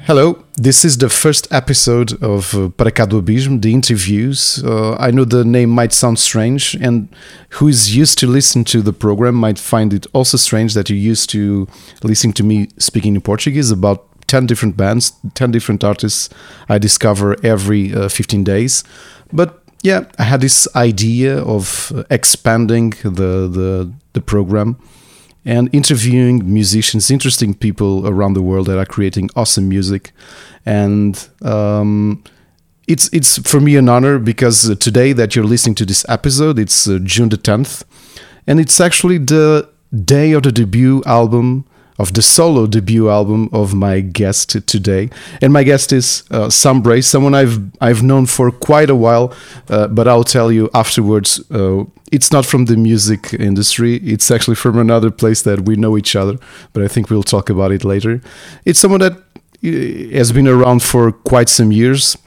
Hello, this is the first episode of Para Cá do Abismo, the interviews. I know the name might sound strange, and who is used to listen to the program might find it also strange that you're used to listening to me speaking in Portuguese about 10 different bands, 10 different artists I discover every 15 days. But yeah, I had this idea of expanding the program and interviewing musicians, interesting people around the world that are creating awesome music. And it's for me an honor because today that you're listening to this episode, it's June the 10th, and it's actually the day of the debut album, of the solo debut album of my guest today. And my guest is Sam Brace, someone I've known for quite a while, but I'll tell you afterwards, it's not from the music industry, it's actually from another place that we know each other, but I think we'll talk about it later. It's someone that has been around for quite some years.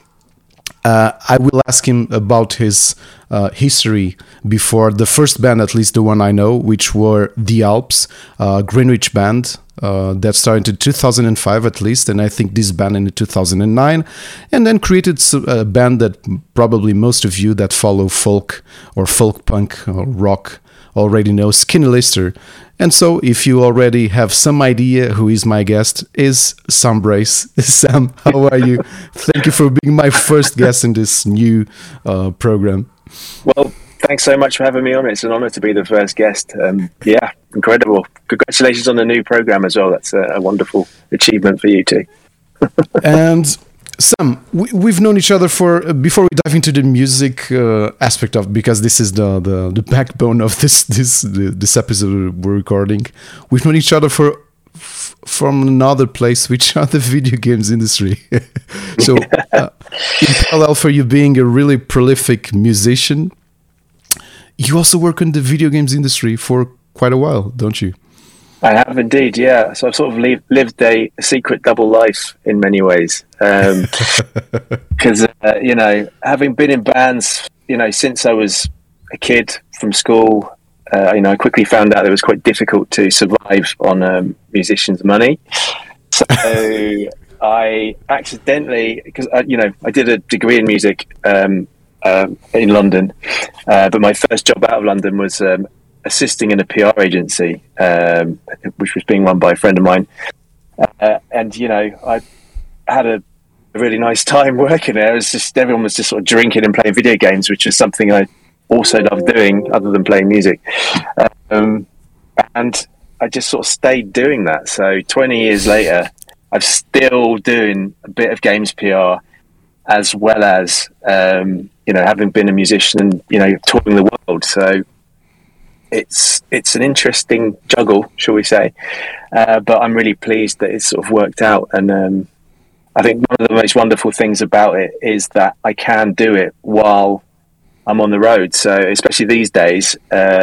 I will ask him about his history before the first band, at least the one I know, which were The Alps, Greenwich band that started in 2005 at least, and I think this band in 2009, and then created a band that probably most of you that follow folk or folk punk or rock already know, Skinny Lister. And so if you already have some idea who is my guest, is Sam Brace. Sam, how are you? Thank you for being my first guest in this new program. Well, thanks so much for having me on. It's an honor to be the first guest. Yeah, incredible. Congratulations on the new program as well. That's a wonderful achievement for you too. And Sam, we've known each other for before we dive into the music aspect of, because this is the backbone of this episode we're recording. We've known each other from another place, which are the video games industry. So, in parallel for you being a really prolific musician, you also work in the video games industry for quite a while, don't you? I have indeed, yeah. So I've sort of lived a secret double life in many ways. Because, having been in bands, since I was a kid from school, I quickly found out it was quite difficult to survive on musicians' money. So I accidentally, because, I did a degree in music in London, but my first job out of London was assisting in a PR agency, which was being run by a friend of mine. And, I had a really nice time working there. It was just, everyone was just sort of drinking and playing video games, which is something I also loved doing other than playing music. And I just sort of stayed doing that. So 20 years later, I'm still doing a bit of games PR as well as, having been a musician and, touring the world. So it's an interesting juggle, shall we say, but I'm really pleased that it's sort of worked out. And I think one of the most wonderful things about it is that I can do it while I'm on the road. So especially these days,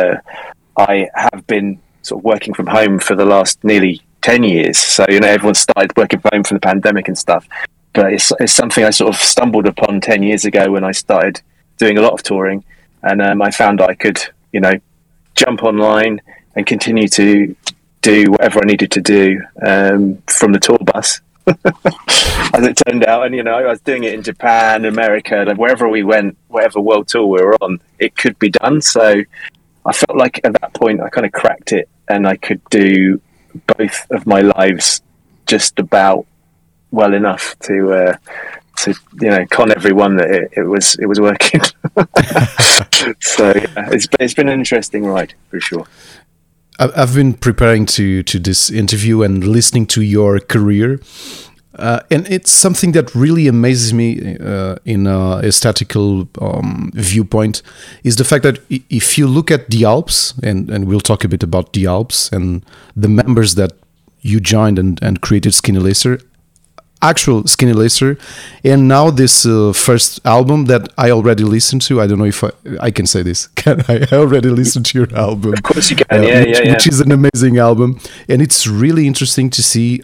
I have been sort of working from home for the last nearly 10 years. So, everyone started working from home from the pandemic and stuff, but it's something I sort of stumbled upon 10 years ago when I started doing a lot of touring, and I found I could, jump online and continue to do whatever I needed to do from the tour bus, as it turned out. And, I was doing it in Japan, America, and wherever we went, whatever world tour we were on, it could be done. So I felt like at that point I kind of cracked it, and I could do both of my lives just about well enough to con everyone that it was working. So yeah, it's been an interesting ride for sure. I've been preparing to this interview and listening to your career, and it's something that really amazes me in a aesthetical viewpoint, is the fact that if you look at The Alps, and we'll talk a bit about The Alps and the members that you joined and created Skinny Lister, actual Skinny Lister, and now this first album that I already listened to. I don't know if I can say this. Can I already listened to your album? Of course you can. Which is an amazing album, and it's really interesting to see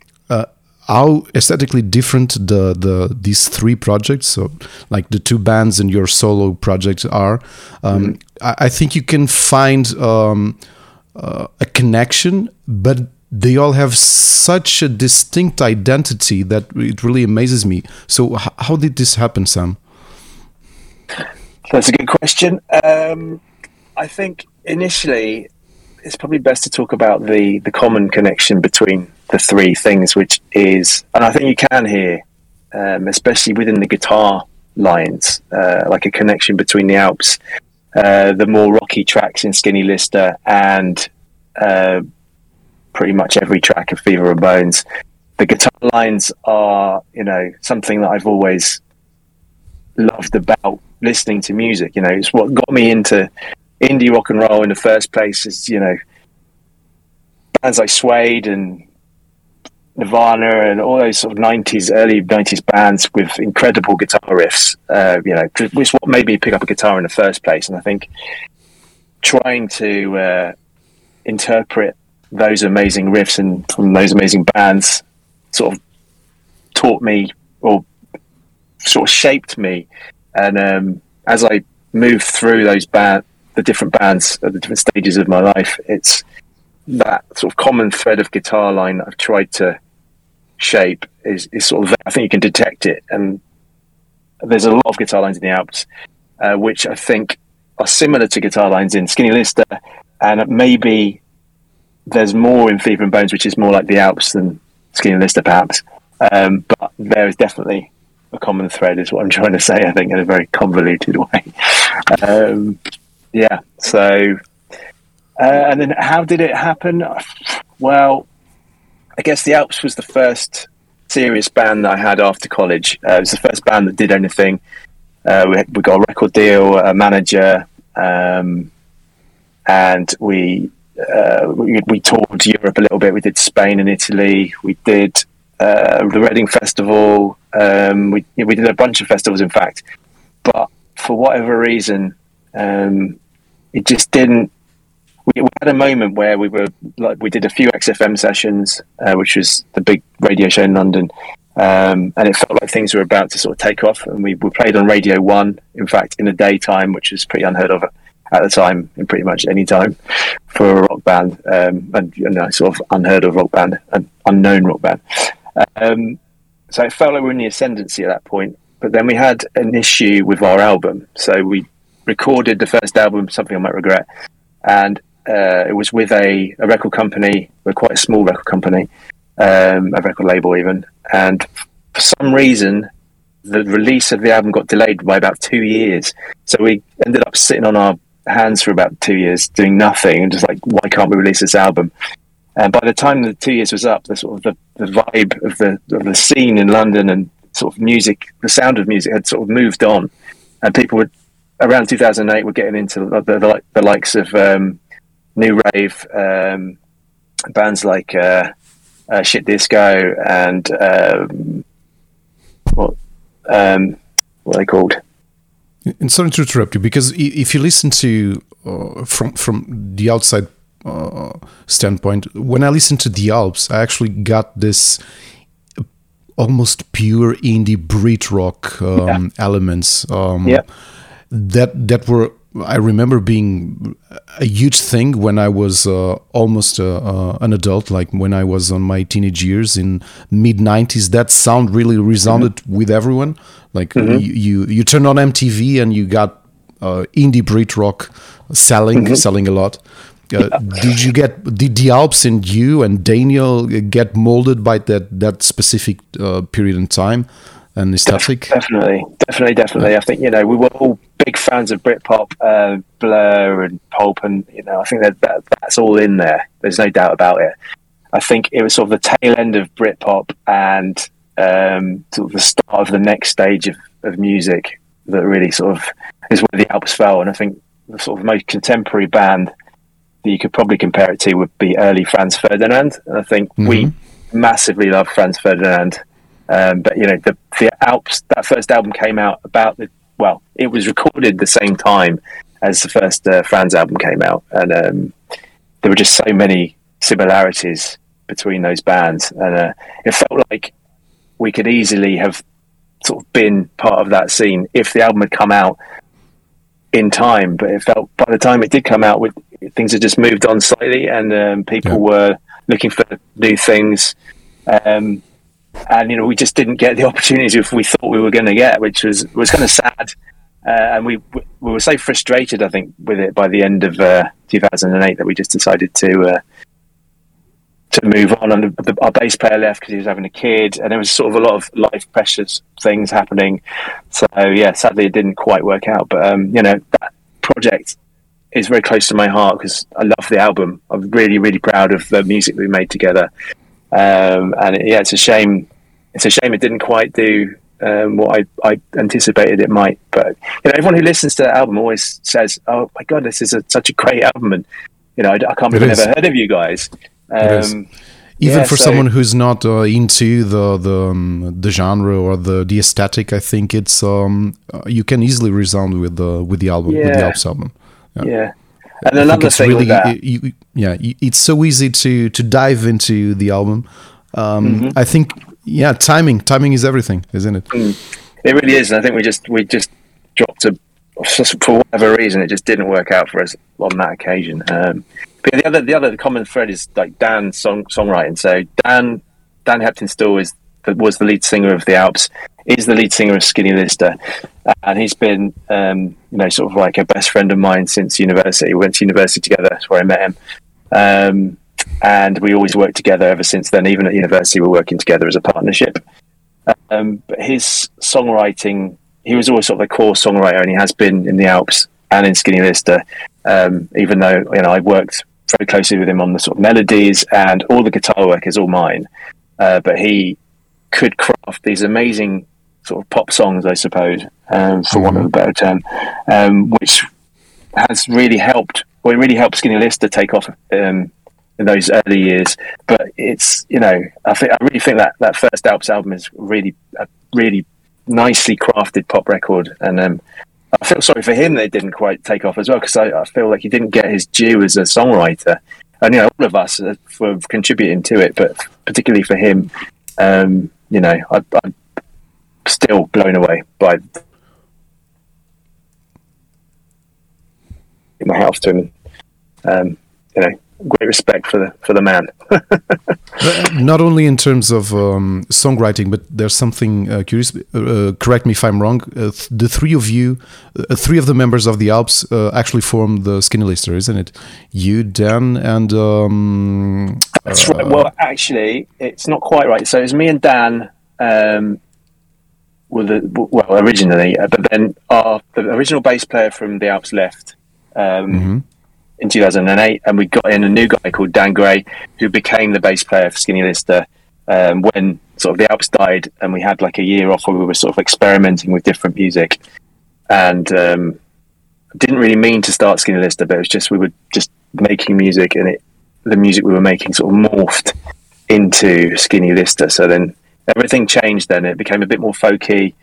how aesthetically different these three projects, so like the two bands and your solo projects are. I think you can find a connection, but they all have such a distinct identity that it really amazes me. So how did this happen, Sam? That's a good question. I think initially it's probably best to talk about the common connection between the three things, which is, and I think you can hear, especially within the guitar lines, like a connection between the Alps, the more rocky tracks in Skinny Lister, and pretty much every track of Fever and Bones. The guitar lines are, something that I've always loved about listening to music. It's what got me into indie rock and roll in the first place. Is bands like Suede and Nirvana and all those sort of early 90s bands with incredible guitar riffs, which what made me pick up a guitar in the first place. And I think trying to interpret those amazing riffs and from those amazing bands sort of taught me, or sort of shaped me. And as I moved through the different bands at the different stages of my life, it's that sort of common thread of guitar line that I've tried to shape is sort of, I think you can detect it. And there's a lot of guitar lines in the Alps, which I think are similar to guitar lines in Skinny Lister, and maybe there's more in Fever and Bones, which is more like the Alps than Skinny Lister, perhaps. But there is definitely a common thread, is what I'm trying to say, I think, in a very convoluted way. So and then how did it happen? Well, I guess the Alps was the first serious band that I had after college. It was the first band that did anything. We got a record deal, a manager, and we toured Europe a little bit. We did Spain and Italy. We did the Reading Festival. We did a bunch of festivals, in fact. But for whatever reason, it just didn't. We had a moment where we did a few XFM sessions, which was the big radio show in London, and it felt like things were about to sort of take off. And we played on Radio 1, in fact, in the daytime, which was pretty unheard of at the time, in pretty much any time for a rock band, and sort of unheard of rock band, an unknown rock band. So it felt like we were in the ascendancy at that point. But then we had an issue with our album. So we recorded the first album, Something I Might Regret, and it was with a record company. We're quite a small record company, a record label even. And for some reason, the release of the album got delayed by about 2 years. So we ended up sitting on our hands for about 2 years doing nothing, and just like, why can't we release this album? And by the time the 2 years was up, the sort of the vibe of the scene in London and sort of music, the sound of music had sort of moved on, and people would, around 2008, were getting into the likes of new rave, bands like Shit Disco and what are they called? And sorry to interrupt you, because if you listen to from the outside standpoint, when I listen to the Alps, I actually got this almost pure indie Brit rock elements that were, I remember, being a huge thing when I was almost an adult, like when I was on my teenage years in mid-90s. That sound really resounded with everyone. Like you turn on MTV and you got indie Brit rock selling a lot. Did the Alps and you and Daniel get molded by that specific period in time and aesthetic? Definitely. I think, we were all big fans of Britpop, Blur and Pulp, and I think that's all in there. There's no doubt about it. I think it was sort of the tail end of Britpop and sort of the start of the next stage of music that really sort of is where the Alps fell. And I think the sort of most contemporary band that you could probably compare it to would be early Franz Ferdinand. And I think we massively love Franz Ferdinand. But the Alps, that first album came out it was recorded the same time as the first Franz album came out, and there were just so many similarities between those bands, and it felt like we could easily have sort of been part of that scene if the album had come out in time. But it felt, by the time it did come out, things had just moved on slightly, and people were looking for new things. And we just didn't get the opportunities we thought we were going to get, which was kind of sad. And we were so frustrated, I think, with it by the end of 2008 that we just decided to move on. And our bass player left because he was having a kid, and there was sort of a lot of life pressures things happening. So yeah, sadly it didn't quite work out. But that project is very close to my heart because I love the album. I'm really, really proud of the music we made together. It's a shame. It's a shame it didn't quite do what I anticipated it might. But everyone who listens to the album always says, "Oh my god, this is such a great album!" And I can't believe I've never heard of you guys. Even for someone who's not into the genre or the aesthetic, I think it's you can easily resound with the album, with the Alps album. Yeah. And another thing really, with that, it's so easy to dive into the album. I think, timing is everything, isn't it? It really is. And I think we just dropped for whatever reason, it just didn't work out for us on that occasion. But the other common thread is like Dan's songwriting. So Dan Heptonstall was the lead singer of the Alps. He's the lead singer of Skinny Lister, and he's been sort of like a best friend of mine since university. We went to university together. That's where I met him, and we always worked together ever since then. Even at university, we're working together as a partnership. But his songwriting, he was always sort of a core songwriter, and he has been in the Alps and in Skinny Lister. Even though I worked very closely with him on the sort of melodies, and all the guitar work is all mine, but he could craft these amazing sort of pop songs, I suppose, for want of a better term, which has really helped. Well, it really helped Skinny Lister take off in those early years. But it's I really think that first Alps album is really a really nicely crafted pop record, and I feel sorry for him that it didn't quite take off as well, because I feel like he didn't get his due as a songwriter. And all of us for contributing to it, but particularly for him, I'm still blown away by my house to him. Great respect for the man. Not only in terms of songwriting, but there's something curious. Correct me if I'm wrong. The three of you, three of the members of the Alps, actually form the Skinny Lister, isn't it? You, Dan, and that's right. Well, actually, it's not quite right. So it's me and Dan. Originally, but then the original bass player from the Alps left. In 2008, and we got in a new guy called Dan Gray, who became the bass player for Skinny Lister when sort of the Alps died, and we had like a year off where we were sort of experimenting with different music, and didn't really mean to start Skinny Lister, but it was just we were just making music, and the music we were making sort of morphed into Skinny Lister. So then everything changed. Then it became a bit more folky.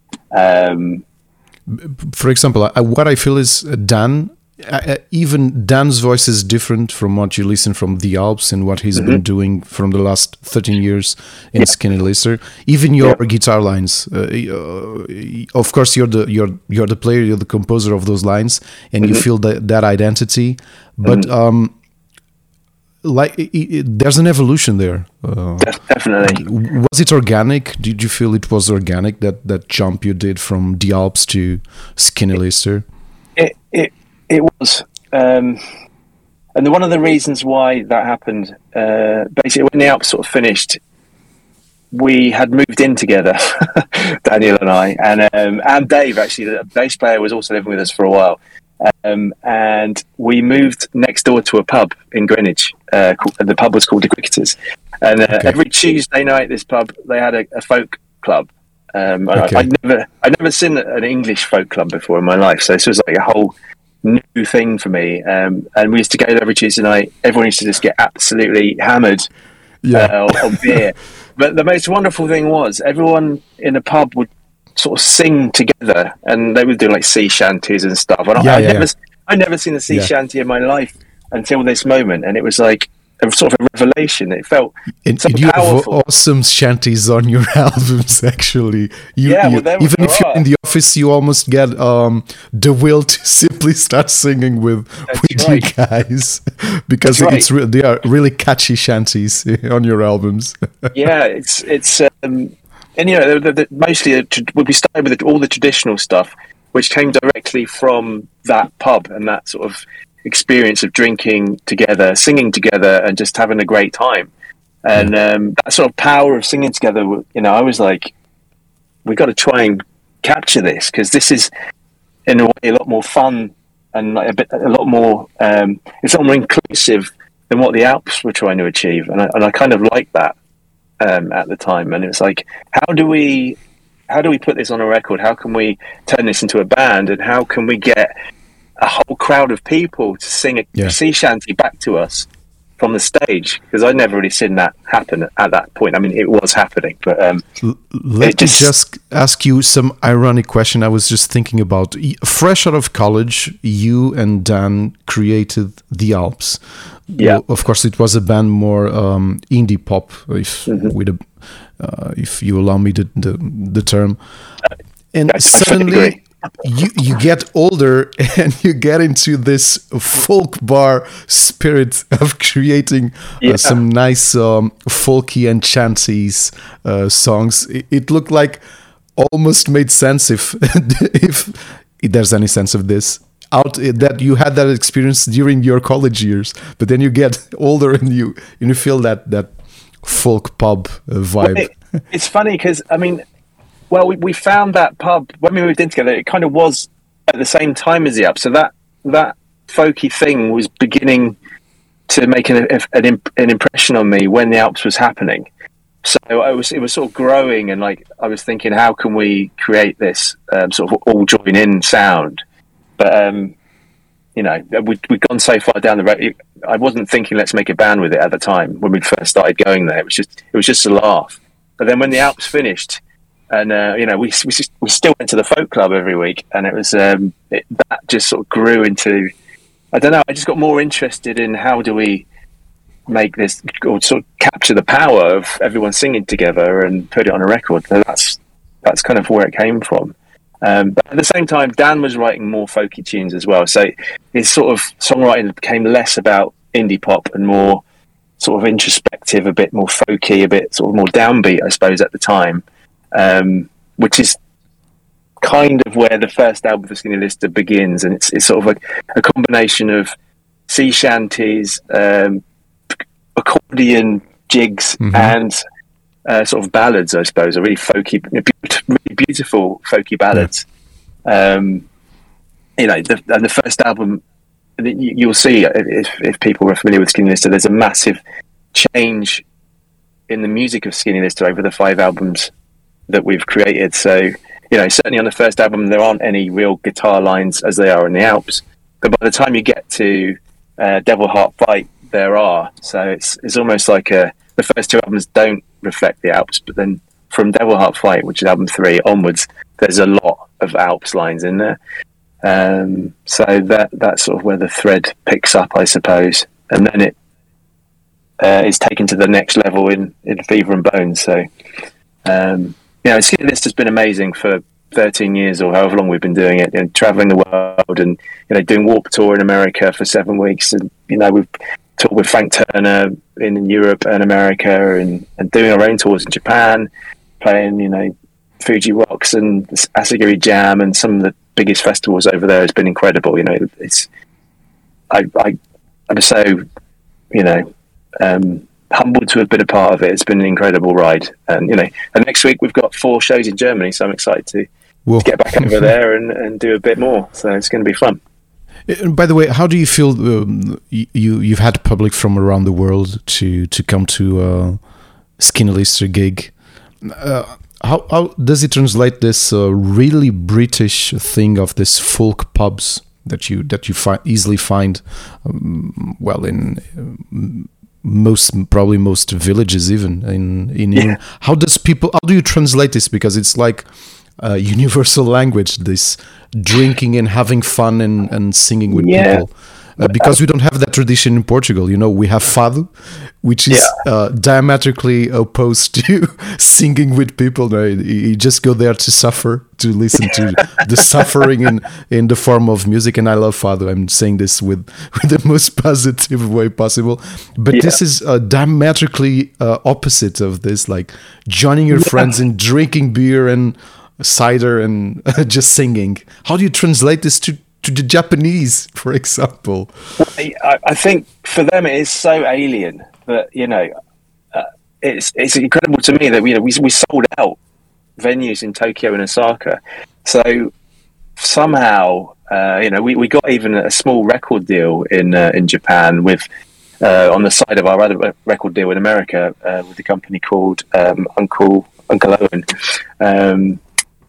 For example, what I feel is Dan. Even Dan's voice is different from what you listen from the Alps and what he's been doing from the last 13 years in Skinny Lister. Even your guitar lines, of course, you're the player, you're the composer of those lines, and you feel that identity. But there's an evolution there. Definitely. Was it organic? Did you feel it was organic, that jump you did from the Alps to Skinny Lister? It was, and one of the reasons why that happened, basically when the Alps sort of finished, we had moved in together, Daniel and I, and Dave, actually, the bass player, was also living with us for a while, and we moved next door to a pub in Greenwich. The pub was called The Cricketers, and every Tuesday night, this pub, they had a folk club. I'd never seen an English folk club before in my life, so this was like a whole new thing for me, and we used to go there every Tuesday night. Everyone used to just get absolutely hammered on beer. But the most wonderful thing was everyone in the pub would sort of sing together, and they would do like sea shanties and stuff. And I'd never seen a sea shanty in my life until this moment, and it was like sort of a revelation. It felt so and you powerful. have awesome shanties on your albums, actually. Even if you're in the office, you almost get the will to simply start singing with you guys, because they are really catchy shanties on your albums. Yeah, it's and mostly we started with all the traditional stuff, which came directly from that pub and that sort of experience of drinking together, singing together, and just having a great time. And that sort of power of singing together, I was like, we got to try and capture this, because this is in a way a lot more fun and like a lot more it's a lot more inclusive than what the Alps were trying to achieve, and I kind of liked that at the time. And it was like, how do we put this on a record? How can we turn this into a band, and how can we get a whole crowd of people to sing a sea shanty back to us from the stage? Because I'd never really seen that happen at that point. I mean, it was happening, but let me just ask you some ironic question. I was just thinking about, fresh out of college, you and Dan created the Alps. Yeah, well, of course, it was a band more indie pop, if you allow me the term. And suddenly you get older and you get into this folk bar spirit of creating some nice folky and chanties songs. It looked like almost made sense if there's any sense of this, that you had that experience during your college years, but then you get older and you feel that folk pub vibe. Well, it's funny because we found that pub when we moved in together. It kind of was at the same time as the Alps, so that folky thing was beginning to make an impression on me when the Alps was happening. So it was sort of growing, and like I was thinking, how can we create this sort of all join in sound? But we'd gone so far down the road. I wasn't thinking let's make a band with it at the time when we first started going there. It was just a laugh. But then when the Alps finished, and we still went to the folk club every week, and it was that just sort of grew into, I don't know, I just got more interested in how do we make this, or sort of capture the power of everyone singing together and put it on a record. So that's kind of where it came from. But at the same time, Dan was writing more folky tunes as well, so his sort of songwriting became less about indie pop and more sort of introspective, a bit more folky, a bit sort of more downbeat, I suppose, at the time, which is kind of where the first album for Skinny Lister begins. And it's sort of a combination of sea shanties, accordion jigs, and sort of ballads, I suppose, or really folky, really beautiful folky ballads. And the first album, you'll see if people are familiar with Skinny Lister, there's a massive change in the music of Skinny Lister over the 5 albums that we've created. So, certainly on the first album, there aren't any real guitar lines as they are in the Alps. But by the time you get to Devil Heart Fight, there are. So it's almost like the first 2 albums don't reflect the Alps, but then from Devil Heart Fight, which is album 3 onwards, there's a lot of Alps lines in there. So that's sort of where the thread picks up, I suppose, and then it is taken to the next level in Fever and Bones. So Skinny Lister has been amazing for 13 years or however long we've been doing it, traveling the world and doing Warped Tour in America for 7 weeks, and we've toured with Frank Turner in Europe and America, and doing our own tours in Japan, playing Fuji Rocks and Asagiri Jam and some of the biggest festivals over there. Has been incredible. I'm so humbled to have been a part of it. It's been an incredible ride, and next week we've got 4 shows in Germany, so I'm excited to get back over there and do a bit more. So it's going to be fun. By the way, how do you feel you've had public from around the world to come to a Skinny Lister gig? How does it translate this really British thing of this folk pubs that you easily find in most villages, even in England? How do you translate this? Because it's like a universal language, this drinking and having fun and singing with people. because we don't have that tradition in Portugal. You know, we have fado, which is diametrically opposed to singing with people. No, you just go there to suffer, to listen to the suffering in the form of music. And I love fado. I'm saying this with the most positive way possible. But this is diametrically opposite of this, like joining your friends and drinking beer and cider and just singing. How do you translate this to the Japanese, for example? I think for them it is so alien that, you know, it's incredible to me that we sold out venues in Tokyo and Osaka. So somehow, we got even a small record deal in Japan with on the side of our other record deal in America with a company called Uncle Owen.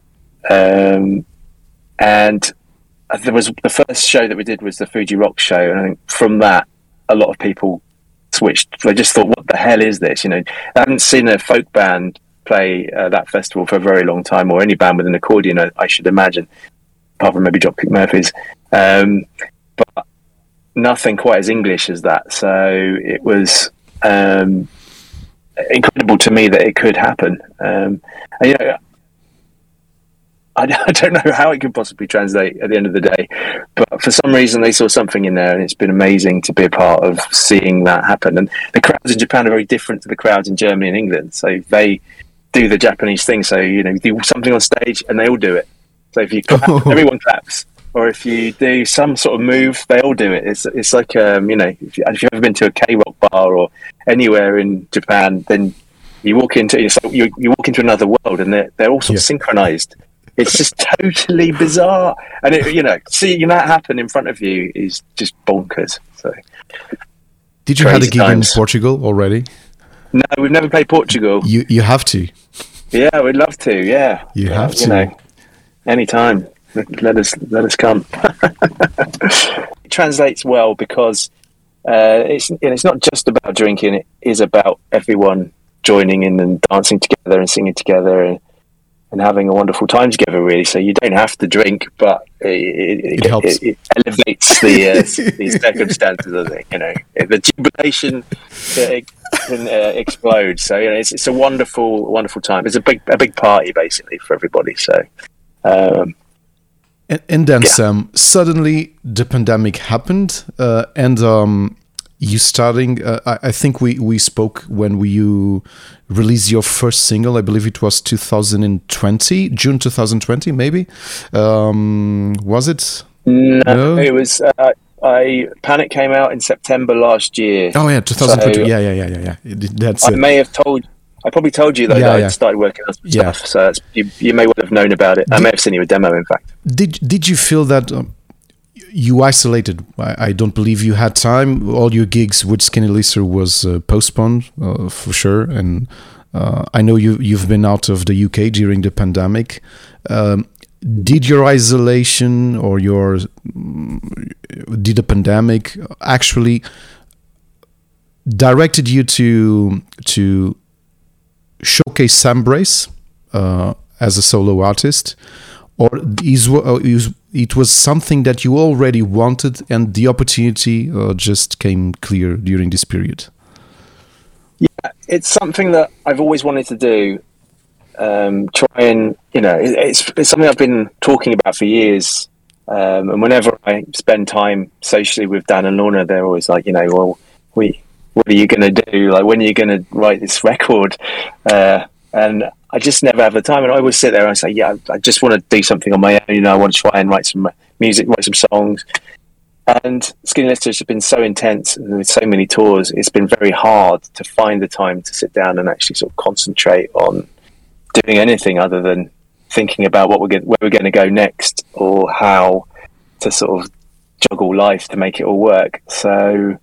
And there was the first show that we did was the Fuji Rock show, and I think from that a lot of people switched. They just thought, what the hell is this? You know, I haven't seen a folk band play that festival for a very long time, or any band with an accordion, I should imagine, apart from maybe Dropkick Murphys, but nothing quite as English as that. So it was incredible to me that it could happen. And, you know, I don't know how it could possibly translate at the end of the day, but for some reason they saw something in there, and it's been amazing to be a part of seeing that happen. And the crowds in Japan are very different to the crowds in Germany and England. So they do the Japanese thing. So, you know, you do something on stage and they all do it. So if you clap, everyone claps. Or if you do some sort of move, they all do it. It's like, you know, if you've ever been to a K-rock bar or anywhere in Japan, then you walk into another world, and they're all sort of synchronized. It's just totally bizarre, and seeing that happen in front of you is just bonkers. So, did you have a gig in Portugal already? No, we've never played Portugal. You have to. Yeah, we'd love to. Yeah, you have to. You know, anytime. Let us come. It translates well because it's not just about drinking. It is about everyone joining in and dancing together and singing together and having a wonderful time together, really. So you don't have to drink, but it helps. It elevates the circumstances, I think. You know, the jubilation can explode. So, you know, it's a wonderful time. It's a big party, basically, for everybody. So. And then Sam, suddenly the pandemic happened, and you starting. I think we spoke when you released your first single. I believe it was 2020, June 2020, maybe. Was it? No, it was. Panic came out in September last year. Oh yeah, 2020. So, yeah. That's it. I probably told you that I started working on some stuff, so you may well have known about it. I may have sent you a demo, in fact. Did you feel that you isolated? I don't believe you had time. All your gigs with Skinny Lister was postponed for sure, and I know you've been out of the UK during the pandemic. Did your isolation or did the pandemic actually directed you to showcase Sam Brace as a solo artist, or it was something that you already wanted and the opportunity just came clear during this period? Yeah, it's something that I've always wanted to do. Try and, you know, it's something I've been talking about for years. And whenever I spend time socially with Dan and Lorna, they're always like, you know, well, what are you going to do? Like, when are you going to write this record? And I just never have the time. And I always sit there and I say, yeah, I just want to do something on my own. You know, I want to try and write some music, write some songs. And Skinny Lister has been so intense with so many tours. It's been very hard to find the time to sit down and actually sort of concentrate on doing anything other than thinking about where we're going to go next, or how to sort of juggle life to make it all work. So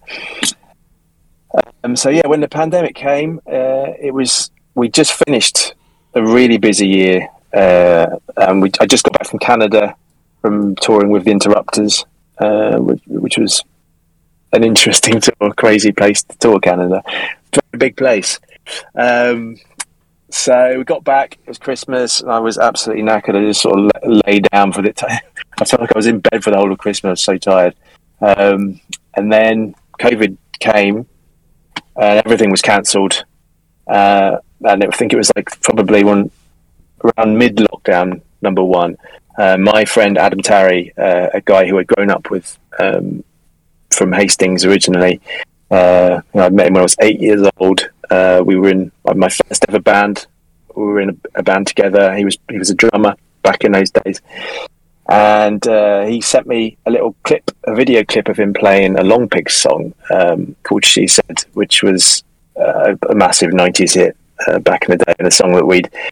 yeah, when the pandemic came, we just finished a really busy year. I just got back from Canada from touring with the Interrupters, which was an interesting tour, crazy place to tour, Canada. Very big place. So we got back, it was Christmas, and I was absolutely knackered. I just sort of lay down for the time. I felt like I was in bed for the whole of Christmas, I was so tired. And then COVID came and everything was cancelled. And I think it was like probably around mid-lockdown, number one. My friend Adam Tarry, a guy who I'd grown up with from Hastings originally, I met him when I was 8 years old. We were in my first ever band. We were in a band together. He was a drummer back in those days. And he sent me a video clip of him playing a Long Pigs song called She Said, which was a massive 90s hit back in the day, and a song that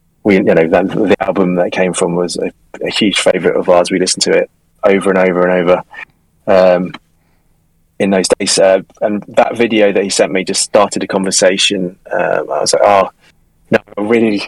the album that it came from was a huge favourite of ours. We listened to it over and over and over in those days. And that video that he sent me just started a conversation. I was like, I really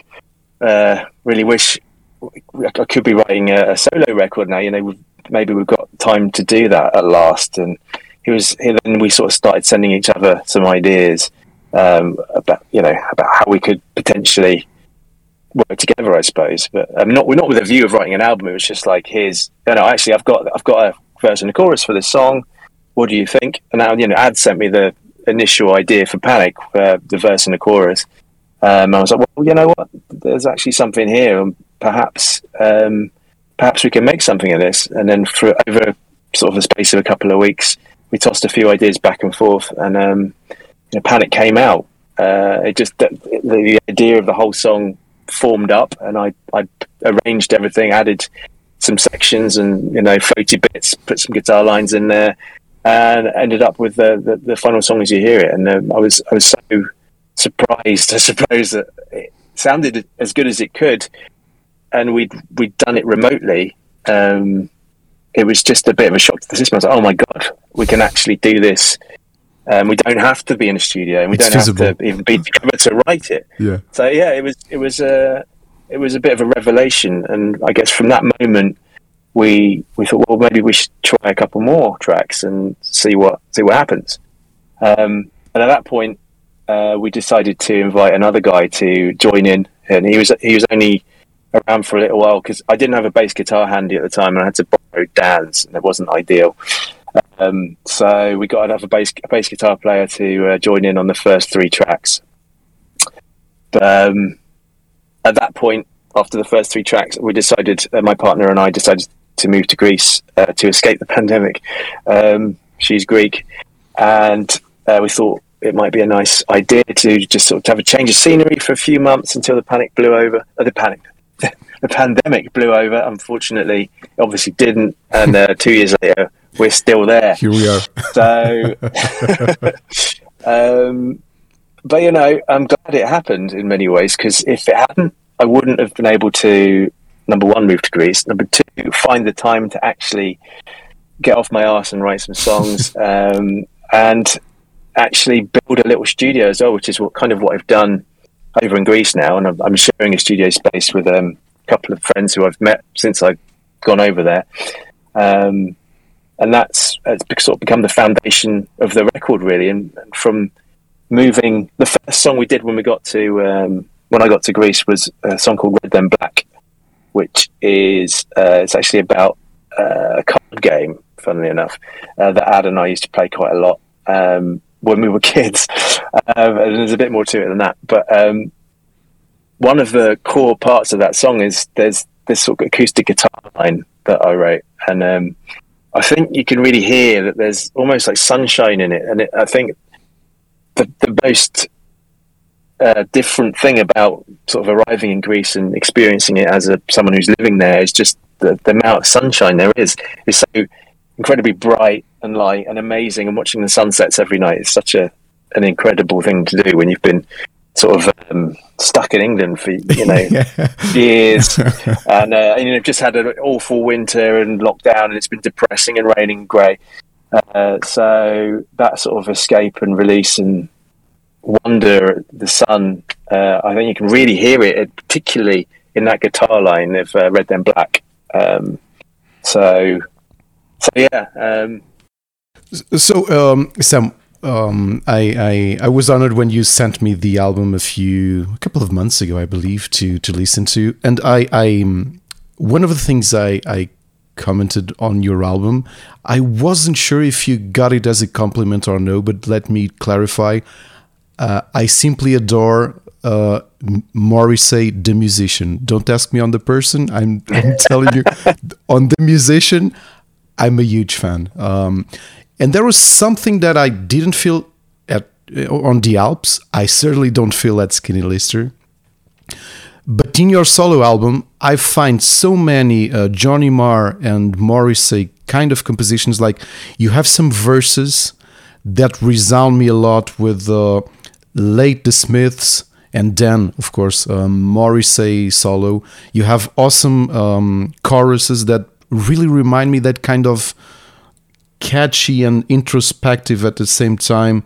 wish I could be writing a solo record now. Maybe we've got time to do that at last. And then we sort of started sending each other some ideas about how we could potentially work together, I suppose. But we're not with a view of writing an album. It was just like, actually, I've got a verse and a chorus for this song. What do you think? And now, Ad sent me the initial idea for Panic, the verse and the chorus. I was like, well, you know what? There's actually something here, and perhaps we can make something of this. And then over sort of the space of a couple of weeks, we tossed a few ideas back and forth, and Panic came out. The idea of the whole song formed up, and I arranged everything, added some sections and floaty bits, put some guitar lines in there, and ended up with the final song as you hear it. And I was so surprised, I suppose, that it sounded as good as it could, and we'd done it remotely. It was just a bit of a shock to the system. I was like, oh my god, we can actually do this. We don't have to be in a studio, and we don't have to even be together to write it. Yeah. So yeah, it was a bit of a revelation, and I guess from that moment we thought, well, maybe we should try a couple more tracks and see what happens. And at that point, we decided to invite another guy to join in, and he was only around for a little while because I didn't have a bass guitar handy at the time, and I had to borrow Dan's, and it wasn't ideal. So we got another bass guitar player to join in on the first 3 tracks. But at that point, after the first 3 tracks, we decided, my partner and I decided to move to Greece to escape the pandemic. She's Greek, and we thought it might be a nice idea to just sort of have a change of scenery for a few months until the pandemic blew over. Unfortunately, it obviously didn't, and 2 years later, we're still there. Here we are. So, but I'm glad it happened in many ways, because if it hadn't, I wouldn't have been able to, number one, move to Greece, number two, find the time to actually get off my arse and write some songs, and actually build a little studio as well, which is what I've done over in Greece now. And I'm sharing a studio space with a couple of friends who I've met since I've gone over there. And it's sort of become the foundation of the record, really. And from moving, the first song we did when I got to Greece was a song called Red Then Black, which is it's actually about a card game, funnily enough, that Ad and I used to play quite a lot when we were kids. And there's a bit more to it than that. But one of the core parts of that song is there's this sort of acoustic guitar line that I wrote, and I think you can really hear that there's almost like sunshine in it. And I think the most different thing about sort of arriving in Greece and experiencing it as someone who's living there is just the amount of sunshine there is. It's so incredibly bright and light and amazing, and watching the sunsets every night is such an incredible thing to do when you've been sort of stuck in England for years, and just had an awful winter and lockdown, and it's been depressing and raining and grey. So that sort of escape and release and wonder at the sun, I think you can really hear it, particularly in that guitar line of Red Then Black. So yeah. Sam, I was honored when you sent me the album a couple of months ago, I believe, to listen to, and I one of the things I commented on your album. I wasn't sure if you got it as a compliment or no, but let me clarify. I simply adore Morrissey, the musician. Don't ask me on the person. I'm telling you, on the musician, I'm a huge fan. And there was something that I didn't feel on the Alps. I certainly don't feel at Skinny Lister. But in your solo album, I find so many Johnny Marr and Morrissey kind of compositions. Like, you have some verses that resound me a lot with late The Smiths, and then, of course, Morrissey solo. You have awesome choruses that really remind me that kind of catchy and introspective at the same time.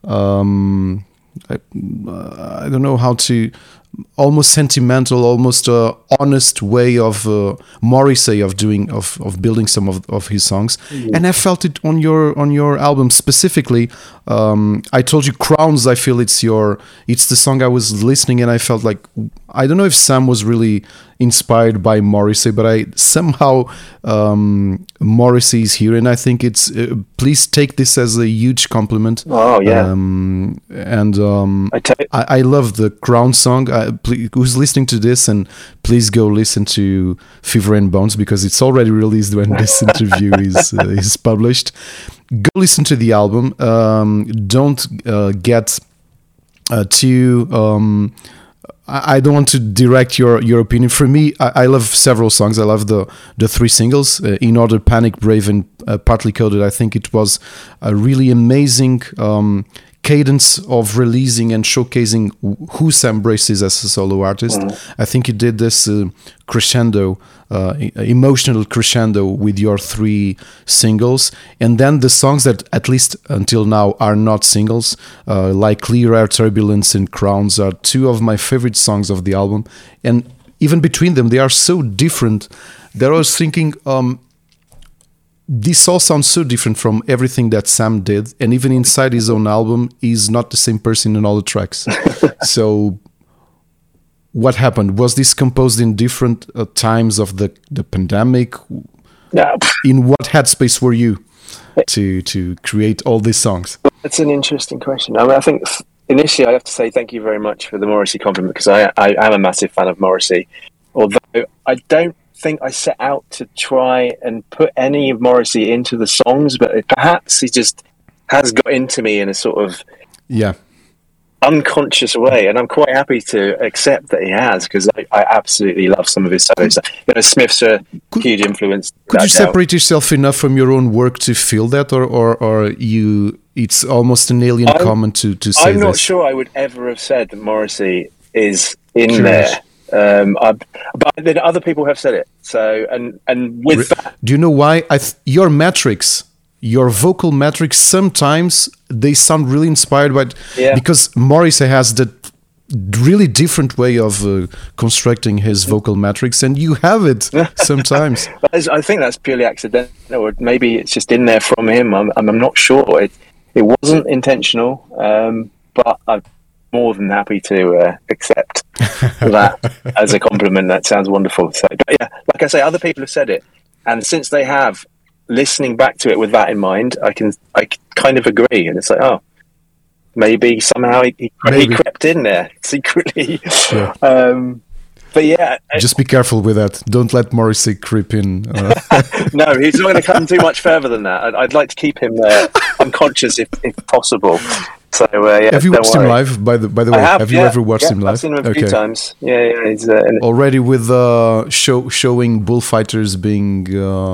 I don't know how to... almost sentimental, almost honest way of Morrissey of building some of his songs, and I felt it on your album specifically. I told you Crowns. I feel it's the song I was listening, and I felt like, I don't know if Sam was really inspired by Morrissey, but I somehow Morrissey is here, and I think it's please take this as a huge compliment. Oh yeah, I love the Crown song. Who's listening to this, and please go listen to Fever and Bones, because it's already released when this interview is published. Go listen to the album. Don't get too... I don't want to direct your opinion. For me, I love several songs. I love the three singles, In Order, Panic, Brave, and Partly Coded. I think it was a really amazing cadence of releasing and showcasing who Sam Brace is as a solo artist. I think you did this crescendo, emotional crescendo with your three singles, and then the songs that at least until now are not singles, like Clear Air, Turbulence, and Crowns, are two of my favorite songs of the album. And even between them, they are so different that I was thinking, this all sounds so different from everything that Sam did, and even inside his own album, he's not the same person in all the tracks. So what happened? Was this composed in different times of the pandemic? Yeah. In what headspace were you to create all these songs? That's an interesting question. I mean, I think initially I have to say thank you very much for the Morrissey compliment, because I am a massive fan of Morrissey, although I don't think I set out to try and put any of Morrissey into the songs, but perhaps he just has got into me in a sort of unconscious way, and I'm quite happy to accept that he has, because I absolutely love some of his solo stuff. Smiths are a huge influence. Could you separate yourself enough from your own work to feel that, or you? It's almost an alien comment to say this. I'm not sure I would ever have said that Morrissey is in there. But then other people have said it. So and with that, do you know why? Your metrics, your vocal metrics, sometimes they sound really inspired by because Morrissey has that really different way of constructing his vocal metrics, and you have it sometimes. I think that's purely accidental, or maybe it's just in there from him. I'm not sure. It wasn't intentional, but I'm more than happy to accept that as a compliment. That sounds wonderful. So, but yeah, like I say, other people have said it, and since they have, listening back to it with that in mind, I kind of agree, and it's like, oh, maybe somehow he crept in there secretly. Yeah. But yeah, just be careful with that. Don't let Morrissey creep in. No, he's not going to come too much further than that. I'd like to keep him unconscious if possible. So have you watched him live? By the way, have you ever watched him live? I've seen him a few times. Yeah. He's already with showing bullfighters being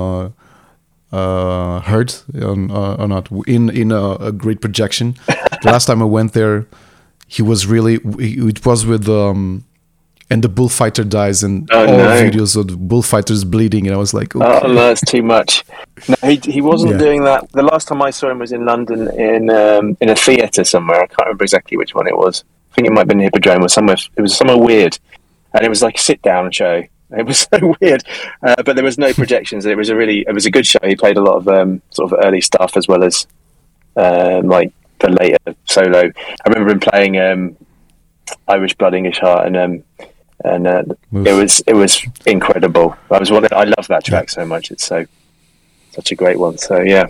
hurt or not in a great projection. The last time I went there, he was really. It was with and the bullfighter dies, and videos of the bullfighters bleeding, and I was like, okay. Oh no, that's too much. No, he wasn't doing that. The last time I saw him was in London in a theatre somewhere. I can't remember exactly which one it was. I think it might have been the Hippodrome or somewhere. It was somewhere weird, and it was like a sit-down show. It was so weird, but there was no projections. It was a good show. He played a lot of sort of early stuff as well as like the later solo. I remember him playing Irish Blood, English Heart, and and it was incredible. I love that track so much. It's such a great one. So yeah.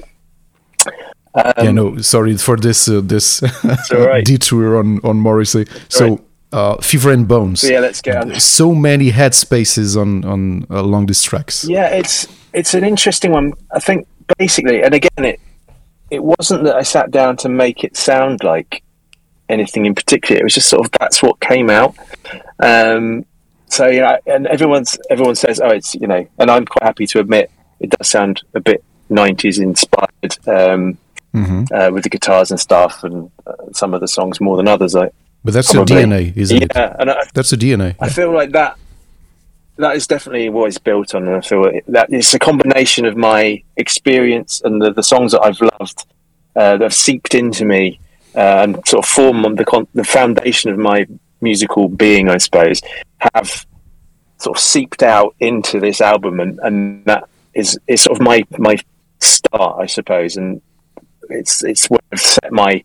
Sorry for this right. detour on Morrissey. So Fever and Bones. Yeah, let's get on. So many headspaces on along these tracks. Yeah, it's an interesting one. I think basically, and again, it wasn't that I sat down to make it sound like anything in particular. It was just sort of that's what came out. So and everyone says, oh, it's and I'm quite happy to admit it does sound a bit 90s inspired with the guitars and stuff, and some of the songs more than others. But that's your DNA, isn't it? Yeah, and that's the DNA. I feel like that is definitely what it's built on, and I feel that it's a combination of my experience and the songs that I've loved that have seeped into me and sort of form the foundation of my musical being, I suppose, have sort of seeped out into this album, and that is sort of my start, I suppose, and it's where I've set my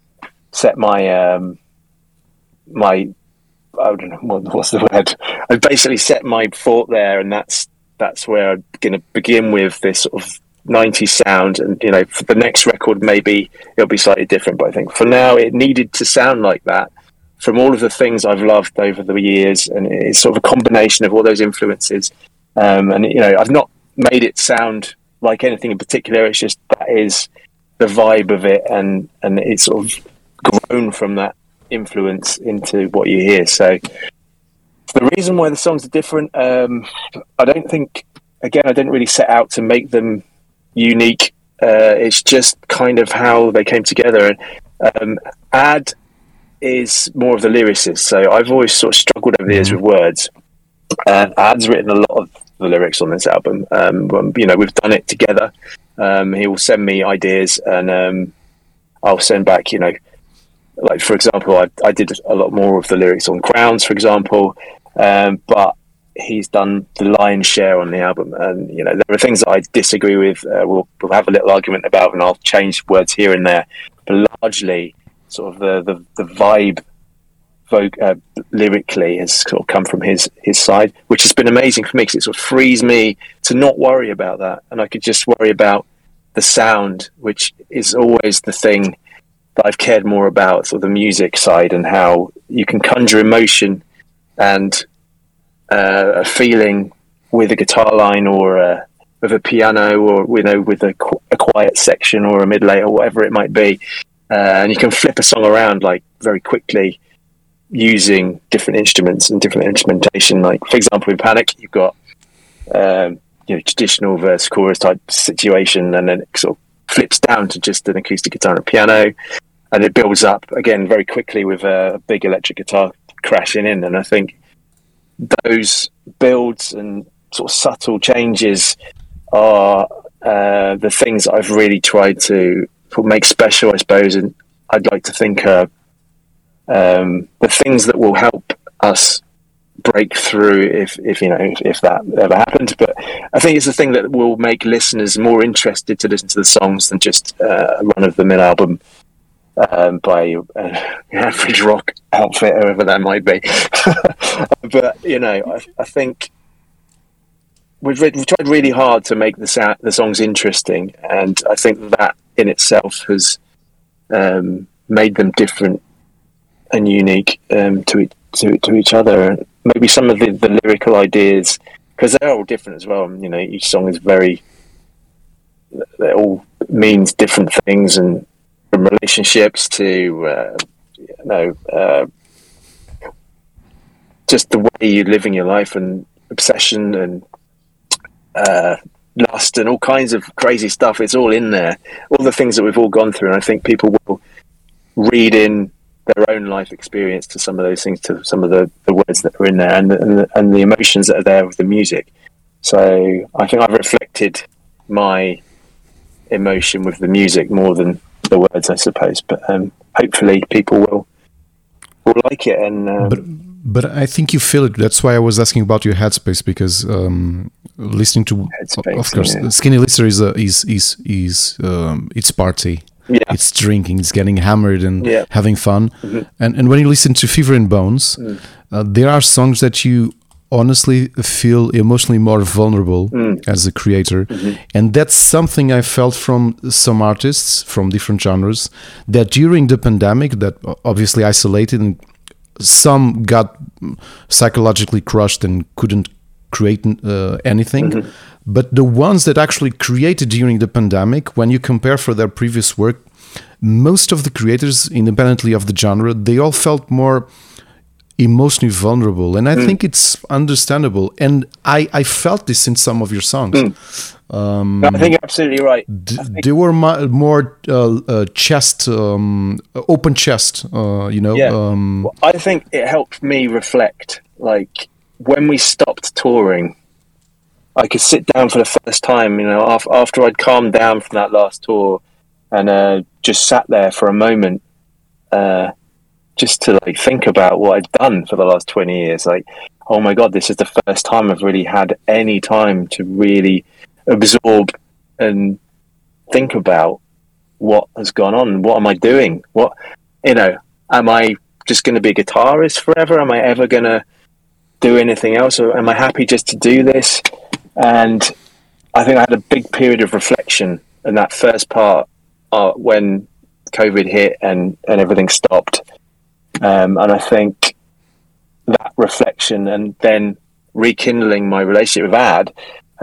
I don't know what's the word. I basically set my thought there, and that's where I'm going to begin with this sort of 90s sound. And for the next record, maybe it'll be slightly different. But I think for now, it needed to sound like that from all of the things I've loved over the years, and it's sort of a combination of all those influences. And I've not made it sound like anything in particular. It's just that is the vibe of it, and it's sort of grown from that influence into what you hear. So the reason why the songs are different, I didn't really set out to make them unique. It's just kind of how they came together. Ad is more of the lyricist, so I've always sort of struggled over the years with words, and Ad's written a lot of the lyrics on this album. We've done it together. He will send me ideas, and I'll send back like, for example, I did a lot more of the lyrics on Crowns, for example, but he's done the lion's share on the album. And, there are things that I disagree with. We'll have a little argument about, and I'll change words here and there. But largely, sort of the vibe lyrically has sort of come from his side, which has been amazing for me, because it sort of frees me to not worry about that. And I could just worry about the sound, which is always the thing that I've cared more about, sort of the music side, and how you can conjure emotion and a feeling with a guitar line, or with a piano, or with a quiet section or a mid eight or whatever it might be, and you can flip a song around like very quickly using different instruments and different instrumentation. Like, for example, in Panic, you've got traditional verse chorus type situation, and then it sort of flips down to just an acoustic guitar and a piano, and it builds up again very quickly with a big electric guitar crashing in. And I think those builds and sort of subtle changes are the things that I've really tried to make special, I suppose, and I'd like to think are the things that will help us break through if that ever happened. But I think it's the thing that will make listeners more interested to listen to the songs than just a run-of-the-mill album by an average rock outfit, whoever that might be. But I think we've tried really hard to make the songs interesting, and I think that in itself has made them different and unique to each other. And maybe some of the lyrical ideas, because they're all different as well. Each song is it all means different things, and from relationships to just the way you're living your life, and obsession and lust and all kinds of crazy stuff. It's all in there, all the things that we've all gone through, and I think people will read in their own life experience to some of those things, to some of the words that are in there, and the emotions that are there with the music. So I think I've reflected my emotion with the music more than the words, I suppose. But hopefully people will like it. And but I think you feel it. That's why I was asking about your headspace, because listening to, Headspace, of course, yeah. Skinny Lister is its party. It's drinking, it's getting hammered and having fun. Mm-hmm. And when you listen to Fever and Bones, there are songs that you honestly feel emotionally more vulnerable as a creator. And that's something I felt from some artists from different genres, that during the pandemic, that obviously isolated, and some got psychologically crushed and couldn't create anything. But the ones that actually created during the pandemic, when you compare for their previous work, most of the creators, independently of the genre, they all felt more emotionally vulnerable, and I think it's understandable. And I felt this in some of your songs. I think you're absolutely right. They were more chest, open chest. Well, I think it helped me reflect. Like when we stopped touring, I could sit down for the first time. After I'd calmed down from that last tour, and just sat there for a moment. Just to like think about what I'd done for the last 20 years. Like, oh my God, this is the first time I've really had any time to really absorb and think about what has gone on. What am I doing? Am I just going to be a guitarist forever? Am I ever going to do anything else? Or am I happy just to do this? And I think I had a big period of reflection in that first part when COVID hit and everything stopped. And I think that reflection and then rekindling my relationship with Ad,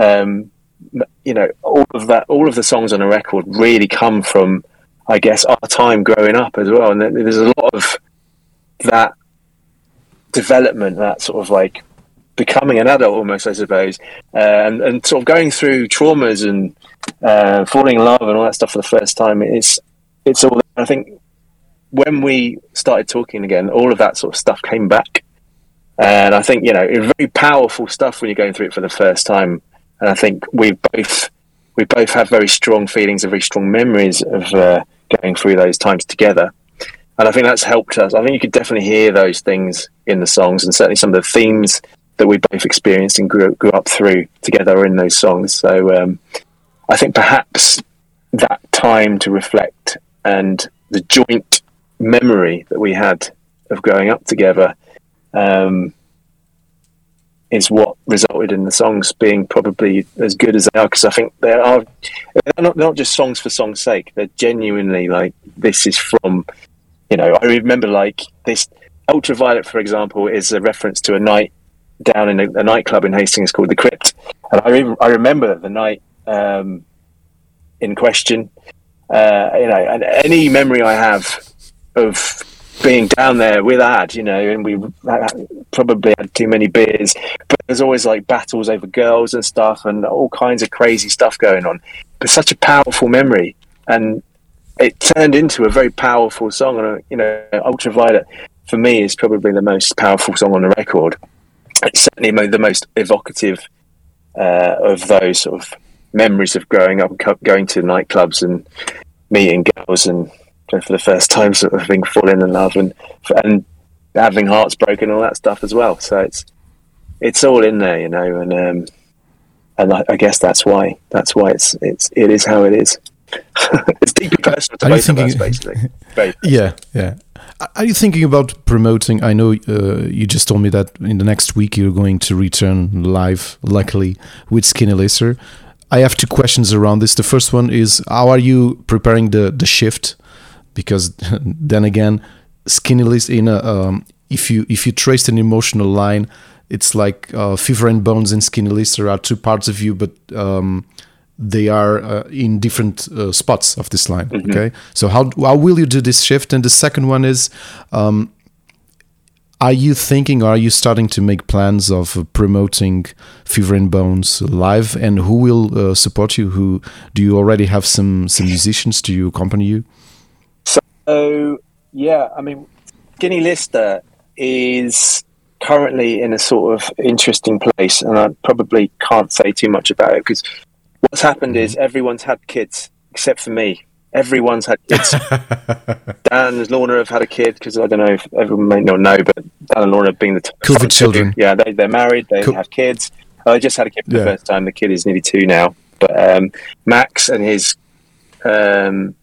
all of the songs on the record really come from, I guess, our time growing up as well. And there's a lot of that development, that sort of like becoming an adult almost, I suppose, and sort of going through traumas and falling in love and all that stuff for the first time. It's all, I think, when we started talking again, all of that sort of stuff came back. And I think, it's very powerful stuff when you're going through it for the first time. And I think we both have very strong feelings and very strong memories of going through those times together. And I think that's helped us. I think you could definitely hear those things in the songs, and certainly some of the themes that we both experienced and grew up through together are in those songs. So I think perhaps that time to reflect and the joint memory that we had of growing up together is what resulted in the songs being probably as good as they are, because I think they're not just songs for song's sake. They're genuinely like, this is from, I remember like this Ultraviolet, for example, is a reference to a night down in a nightclub in Hastings called The Crypt, and I remember the night in question. And any memory I have of being down there with Ad, and we probably had too many beers, but there's always like battles over girls and stuff and all kinds of crazy stuff going on. But such a powerful memory, and it turned into a very powerful song. And Ultraviolet for me is probably the most powerful song on the record. It's certainly the most evocative of those sort of memories of growing up, going to nightclubs and meeting girls and for the first time sort of being falling in love and having hearts broken, all that stuff as well. So it's all in there, and I guess that's why it is how it is. It's deeply personal to both of us, basically. Yeah. Are you thinking about promoting? I know you just told me that in the next week you're going to return live, luckily, with Skinny Lister. I have two questions around this. The first one is, how are you preparing the shift? Because then again, Skinny Lister, if you traced an emotional line, it's like Fever and Bones and Skinny Lister are two parts of you, but they are in different spots of this line. Mm-hmm. Okay, so how will you do this shift? And the second one is, are you thinking, or are you starting to make plans of promoting Fever and Bones live? And who will support you? Who do you already have some musicians to accompany you? So yeah, I mean, Skinny Lister is currently in a sort of interesting place, and I probably can't say too much about it because what's happened is everyone's had kids except for me. Everyone's had kids. Dan and Lorna have had a kid because I don't know if everyone may not know, but Dan and Lorna being the COVID children. Yeah, they're married. They have kids. I just had a kid for the first time. The kid is nearly 2 now. But Max and his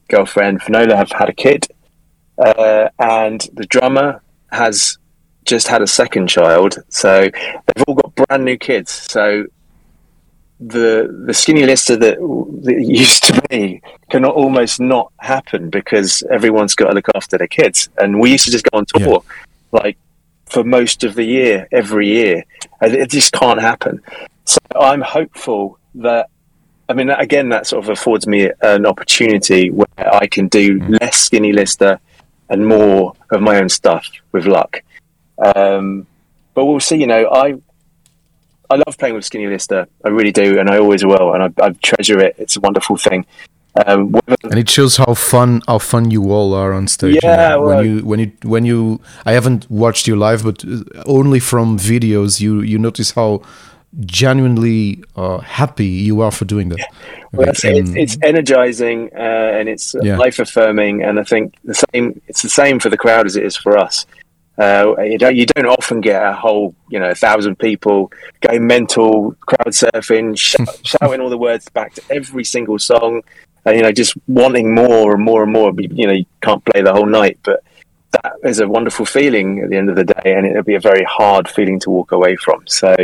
girlfriend Finola have had a kid, and the drummer has just had a second child. So they've all got brand new kids. So the Skinny Lister that used to be can almost not happen because everyone's got to look after their kids. And we used to just go on tour like for most of the year, every year. And it just can't happen. So I'm hopeful that, I mean, again, that sort of affords me an opportunity where I can do less Skinny Lister and more of my own stuff with luck. But we'll see. You know, I love playing with Skinny Lister. I really do, and I always will, and I treasure it. It's a wonderful thing. And it shows how fun you all are on stage. Yeah, well, when you I haven't watched you live, but only from videos, you notice how genuinely happy you are for doing that. Well, it's energizing and it's life affirming, and I think it's the same for the crowd as it is for us. You don't often get a whole 1,000 people going mental, crowd surfing, shouting all the words back to every single song, and just wanting more and more and more. You can't play the whole night, but that is a wonderful feeling at the end of the day, and it'll be a very hard feeling to walk away from. So,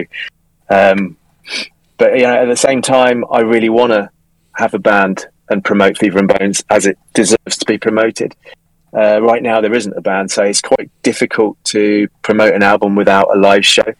but at the same time, I really want to have a band and promote Fever and Bones as it deserves to be promoted. Right now there isn't a band, so it's quite difficult to promote an album without a live show.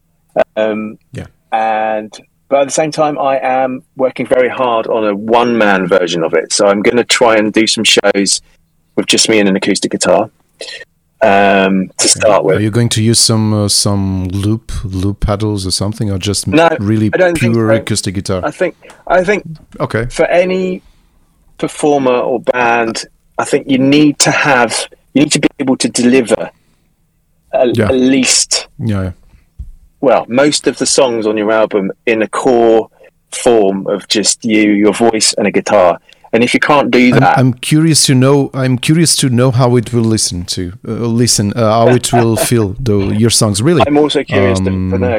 But at the same time, I am working very hard on a one-man version of it. So I'm going to try and do some shows with just me and an acoustic guitar to start with. Are you going to use some loop pedals or something, or just really pure acoustic guitar? I think okay. For any performer or band, I think you need to be able to deliver at least most of the songs on your album in a core form of just your voice and a guitar. And if you can't do that, I'm curious to know how it will how it will feel your songs. Really, I'm also curious to know.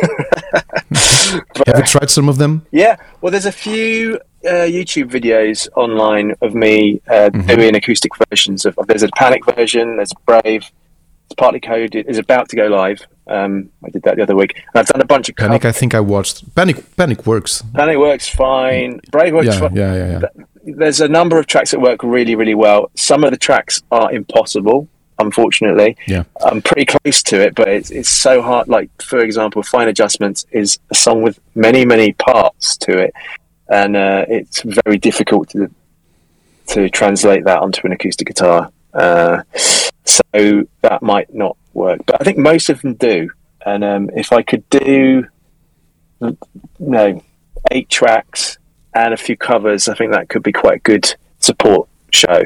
Have you tried some of them? Yeah, well, there's a few YouTube videos online of me doing acoustic versions of. There's a Panic version. There's Brave. It's partly coded. It's about to go live. I did that the other week. And I've done a bunch of Panic. I think I watched Panic works. Panic works fine. Brave works fine. Yeah. There's a number of tracks that work really, really well. Some of the tracks are impossible, unfortunately. Yeah, I'm pretty close to it, but it's so hard. Like, for example, Fine Adjustments is a song with many, many parts to it, and it's very difficult to translate that onto an acoustic guitar. So that might not work, but I think most of them do. And if I could do 8 tracks and a few covers, I think that could be quite a good support show,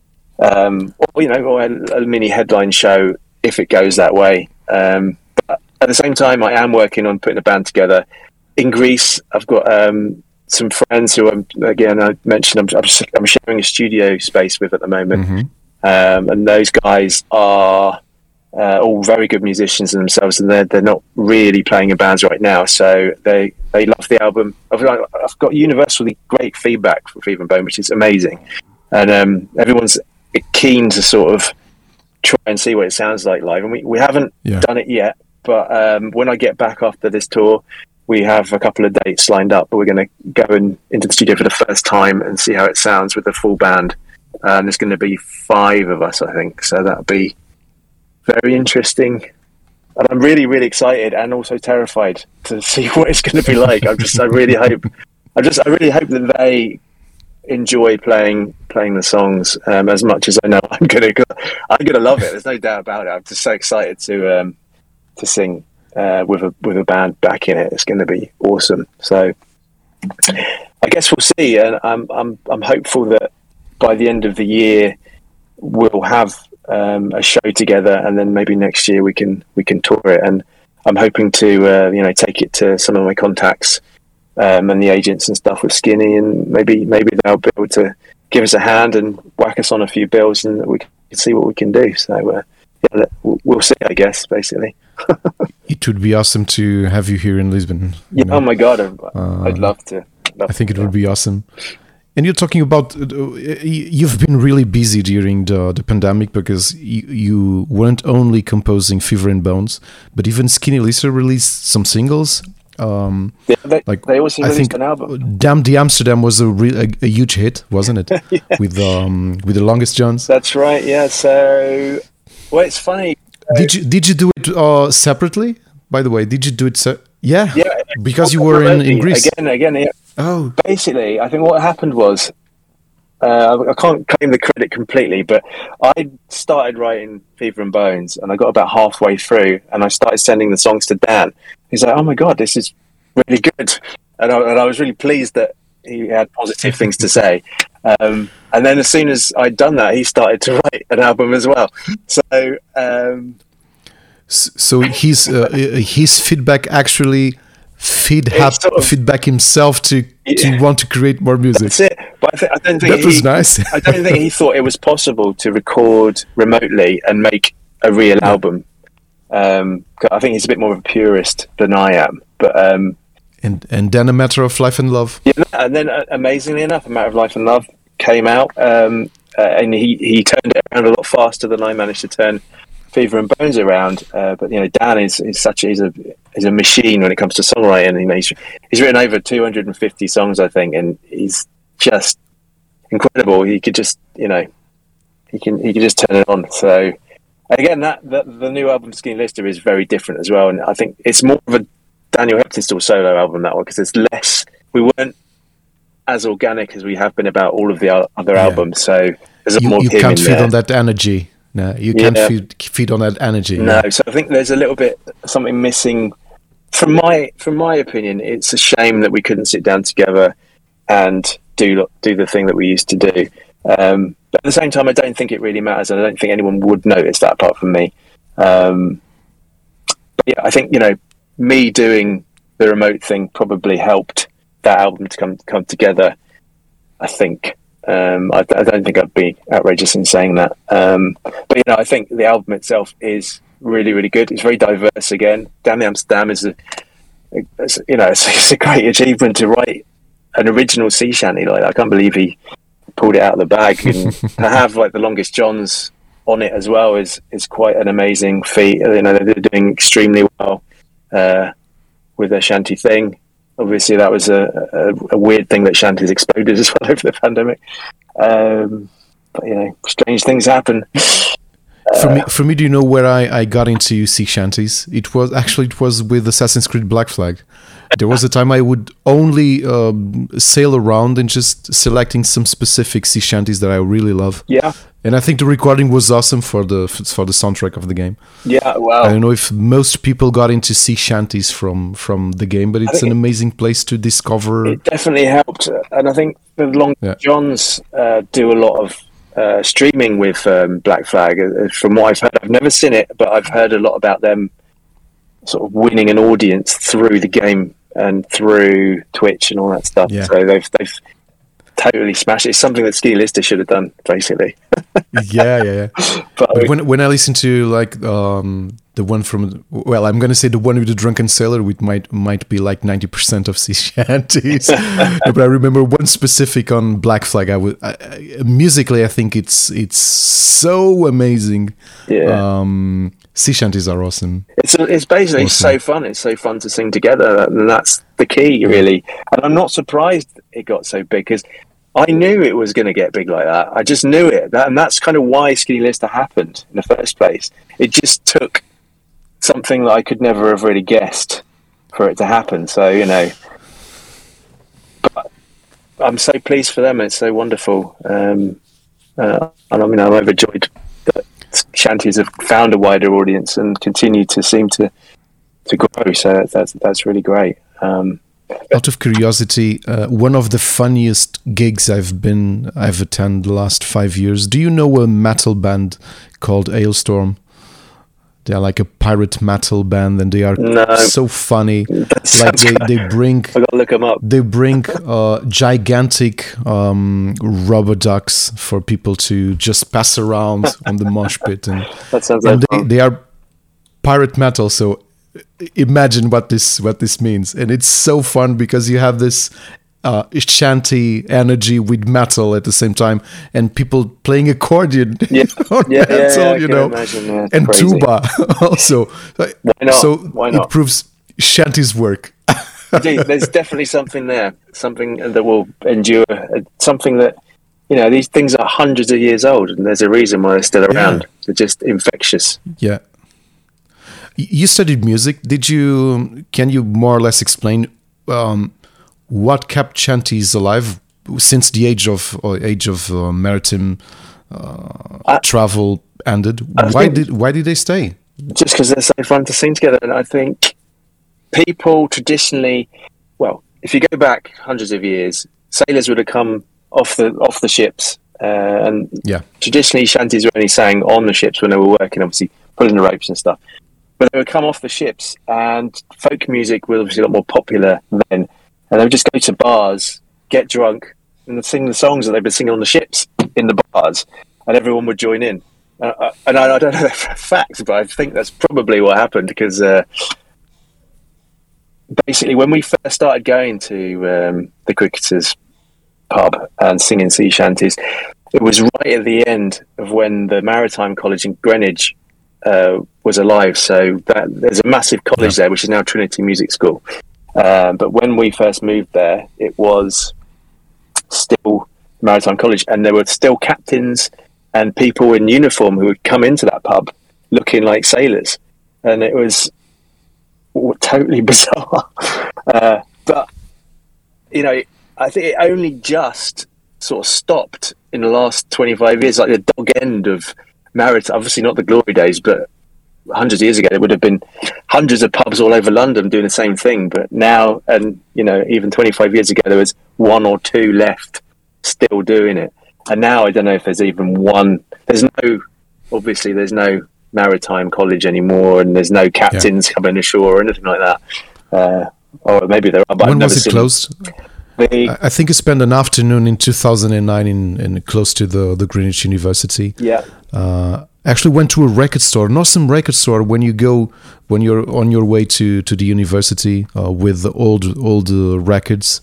or a mini headline show if it goes that way. But at the same time, I am working on putting a band together. In Greece, I've got some friends who I mentioned I'm sharing a studio space with at the moment, and those guys are all very good musicians in themselves, and they're not really playing in bands right now, so they love the album. I've got universally great feedback from Fever and Bone, which is amazing, and everyone's keen to sort of try and see what it sounds like live, and we haven't done it yet, but when I get back after this tour, we have a couple of dates lined up, but we're going to go into the studio for the first time and see how it sounds with the full band. And there's going to be 5 of us, I think, so that'll be very interesting, and I'm really, really excited and also terrified to see what it's going to be like. I really hope that they enjoy playing the songs as much as I know I'm gonna love it. There's no doubt about it. I'm just so excited to sing with a band back in it. It's going to be awesome. So I guess we'll see, and I'm hopeful that by the end of the year we'll have a show together, and then maybe next year we can tour it. And I'm hoping to take it to some of my contacts and the agents and stuff with Skinny, and maybe they'll be able to give us a hand and whack us on a few bills, and we can see what we can do. So we'll see, I guess, basically. It would be awesome to have you here in Lisbon. Oh my God, I'd love to. I think it would be awesome. And you're talking about you've been really busy during the pandemic because you weren't only composing Fever and Bones, but even Skinny Lister released some singles. They also released an album. Damn the Amsterdam was a huge hit, wasn't it? Yeah. With the Longest Johns. That's right. Yeah. So, well, it's funny. Did you do it separately? By the way, did you do it? Yeah. Because you were in Greece again. Yeah. Oh, basically, I think what happened was, I can't claim the credit completely, but I started writing Fever and Bones, and I got about halfway through, and I started sending the songs to Dan. He's like, "Oh my god, this is really good," and I was really pleased that he had positive things to say. And then as soon as I'd done that, he started to write an album as well. So his feedback actually feedback himself to want to create more music. That's it. But I don't think that was nice. I don't think he thought it was possible to record remotely and make a real album. I think he's a bit more of a purist than I am. But and then A Matter of Life and Love. Yeah, and then amazingly enough, A Matter of Life and Love came out, and he turned it around a lot faster than I managed to turn Fever and Bones around. But Dan is a machine when it comes to songwriting. He's written over 250 songs, I think, and he's just incredible. He could just he can just turn it on. So again, the new album Skinny Lister is very different as well, and I think it's more of a Daniel Heptonstall solo album, that one, because it's less. We weren't as organic as we have been about all of the other albums. So there's more. You can't feed on that energy. No, you can't feed on that energy. No, so I think there's a little bit something missing. From my opinion, it's a shame that we couldn't sit down together and do the thing that we used to do. But at the same time, I don't think it really matters, and I don't think anyone would notice that apart from me. But yeah, I think me doing the remote thing probably helped that album to come together. I think. I don't think I'd be outrageous in saying that. But I think the album itself is really, really good. It's very diverse again. Damn the Amsterdam is it's a great achievement to write an original sea shanty like that. I can't believe he pulled it out of the bag, and to have like the Longest Johns on it as well is quite an amazing feat. They're doing extremely well with their shanty thing. Obviously, that was a weird thing that shanties exploded as well over the pandemic. But strange things happen. For me, do you know where I got into sea shanties? It was with Assassin's Creed Black Flag. There was a time I would only sail around and just selecting some specific sea shanties that I really love. Yeah. And I think the recording was awesome for the soundtrack of the game. Yeah, wow. I don't know if most people got into sea shanties from the game, but it's an amazing place to discover. It definitely helped, and I think the Longest Johns do a lot of streaming with Black Flag. From what I've heard, I've never seen it, but I've heard a lot about them sort of winning an audience through the game and through Twitch and all that stuff. Yeah. So they've totally smashed it. It's something that Skinny Lister should have done, basically. yeah. But when I listen to like the one from, well, I'm gonna say the one with the Drunken Sailor, which might be like 90% of sea shanties. But I remember one specific on Black Flag. Musically, I think it's so amazing. Yeah. Sea shanties are awesome. It's basically awesome. So fun. It's so fun to sing together, and that's the key, really. And I'm not surprised it got so big, because I knew it was going to get big like that. I just knew it, and that's kind of why Skinny Lister happened in the first place. It just took something that I could never have really guessed for it to happen. So but I'm so pleased for them. It's so wonderful, and I'm overjoyed that shanties have found a wider audience and continue to seem to grow. So that's really great. Out of curiosity, one of the funniest gigs I've attended the last 5 years. Do you know a metal band called Hailstorm? They're like a pirate metal band, and they are so funny. Like they bring. I gotta look them up. They bring gigantic rubber ducks for people to just pass around on the mosh pit, and that sounds like fun. They are pirate metal. So imagine what this means, and it's so fun because you have this shanty energy with metal at the same time, and people playing accordion on metal, you know, and crazy. tuba also. Why not? So Why not? it proves shanty's work. Indeed, there's definitely something there, something that will endure, something that, you know, these things are hundreds of years old, and there's a reason why they're still around. Yeah. They're just infectious. Yeah. You studied music. Can you more or less explain what kept shanties alive since the age of maritime travel ended? Why did they stay? Just because they're so fun to sing together. And I think people traditionally, well, if you go back hundreds of years, sailors would have come off the ships, and traditionally shanties were only sang on the ships when they were working, obviously pulling the ropes and stuff. But they would come off the ships, and folk music was obviously a lot more popular then. And they would just go to bars, get drunk, and sing the songs that they've been singing on the ships in the bars, and everyone would join in. And I don't know that for a fact, but I think that's probably what happened, because basically when we first started going to the Cricketers pub and singing sea shanties, it was right at the end of when the Maritime College in Greenwich was alive. So there's a massive college there, which is now Trinity Music School. But when we first moved there, it was still Maritime College, and there were still captains and people in uniform who would come into that pub looking like sailors, and it was totally bizarre. But you know, I think it only just sort of stopped in the last 25 years, like the dog end of maritime. Obviously not the glory days, but hundreds of years ago there would have been hundreds of pubs all over London doing the same thing. But now, and you know, even 25 years ago there was one or two left still doing it. And now I don't know if there's even one. There's no Maritime College anymore, and there's no captains coming ashore or anything like that. Or maybe there are, but when was it closed? I think you spent an afternoon in 2009 in close to the Greenwich University. Yeah. Actually went to a record store, an awesome record store when you're on your way to the university with the old records.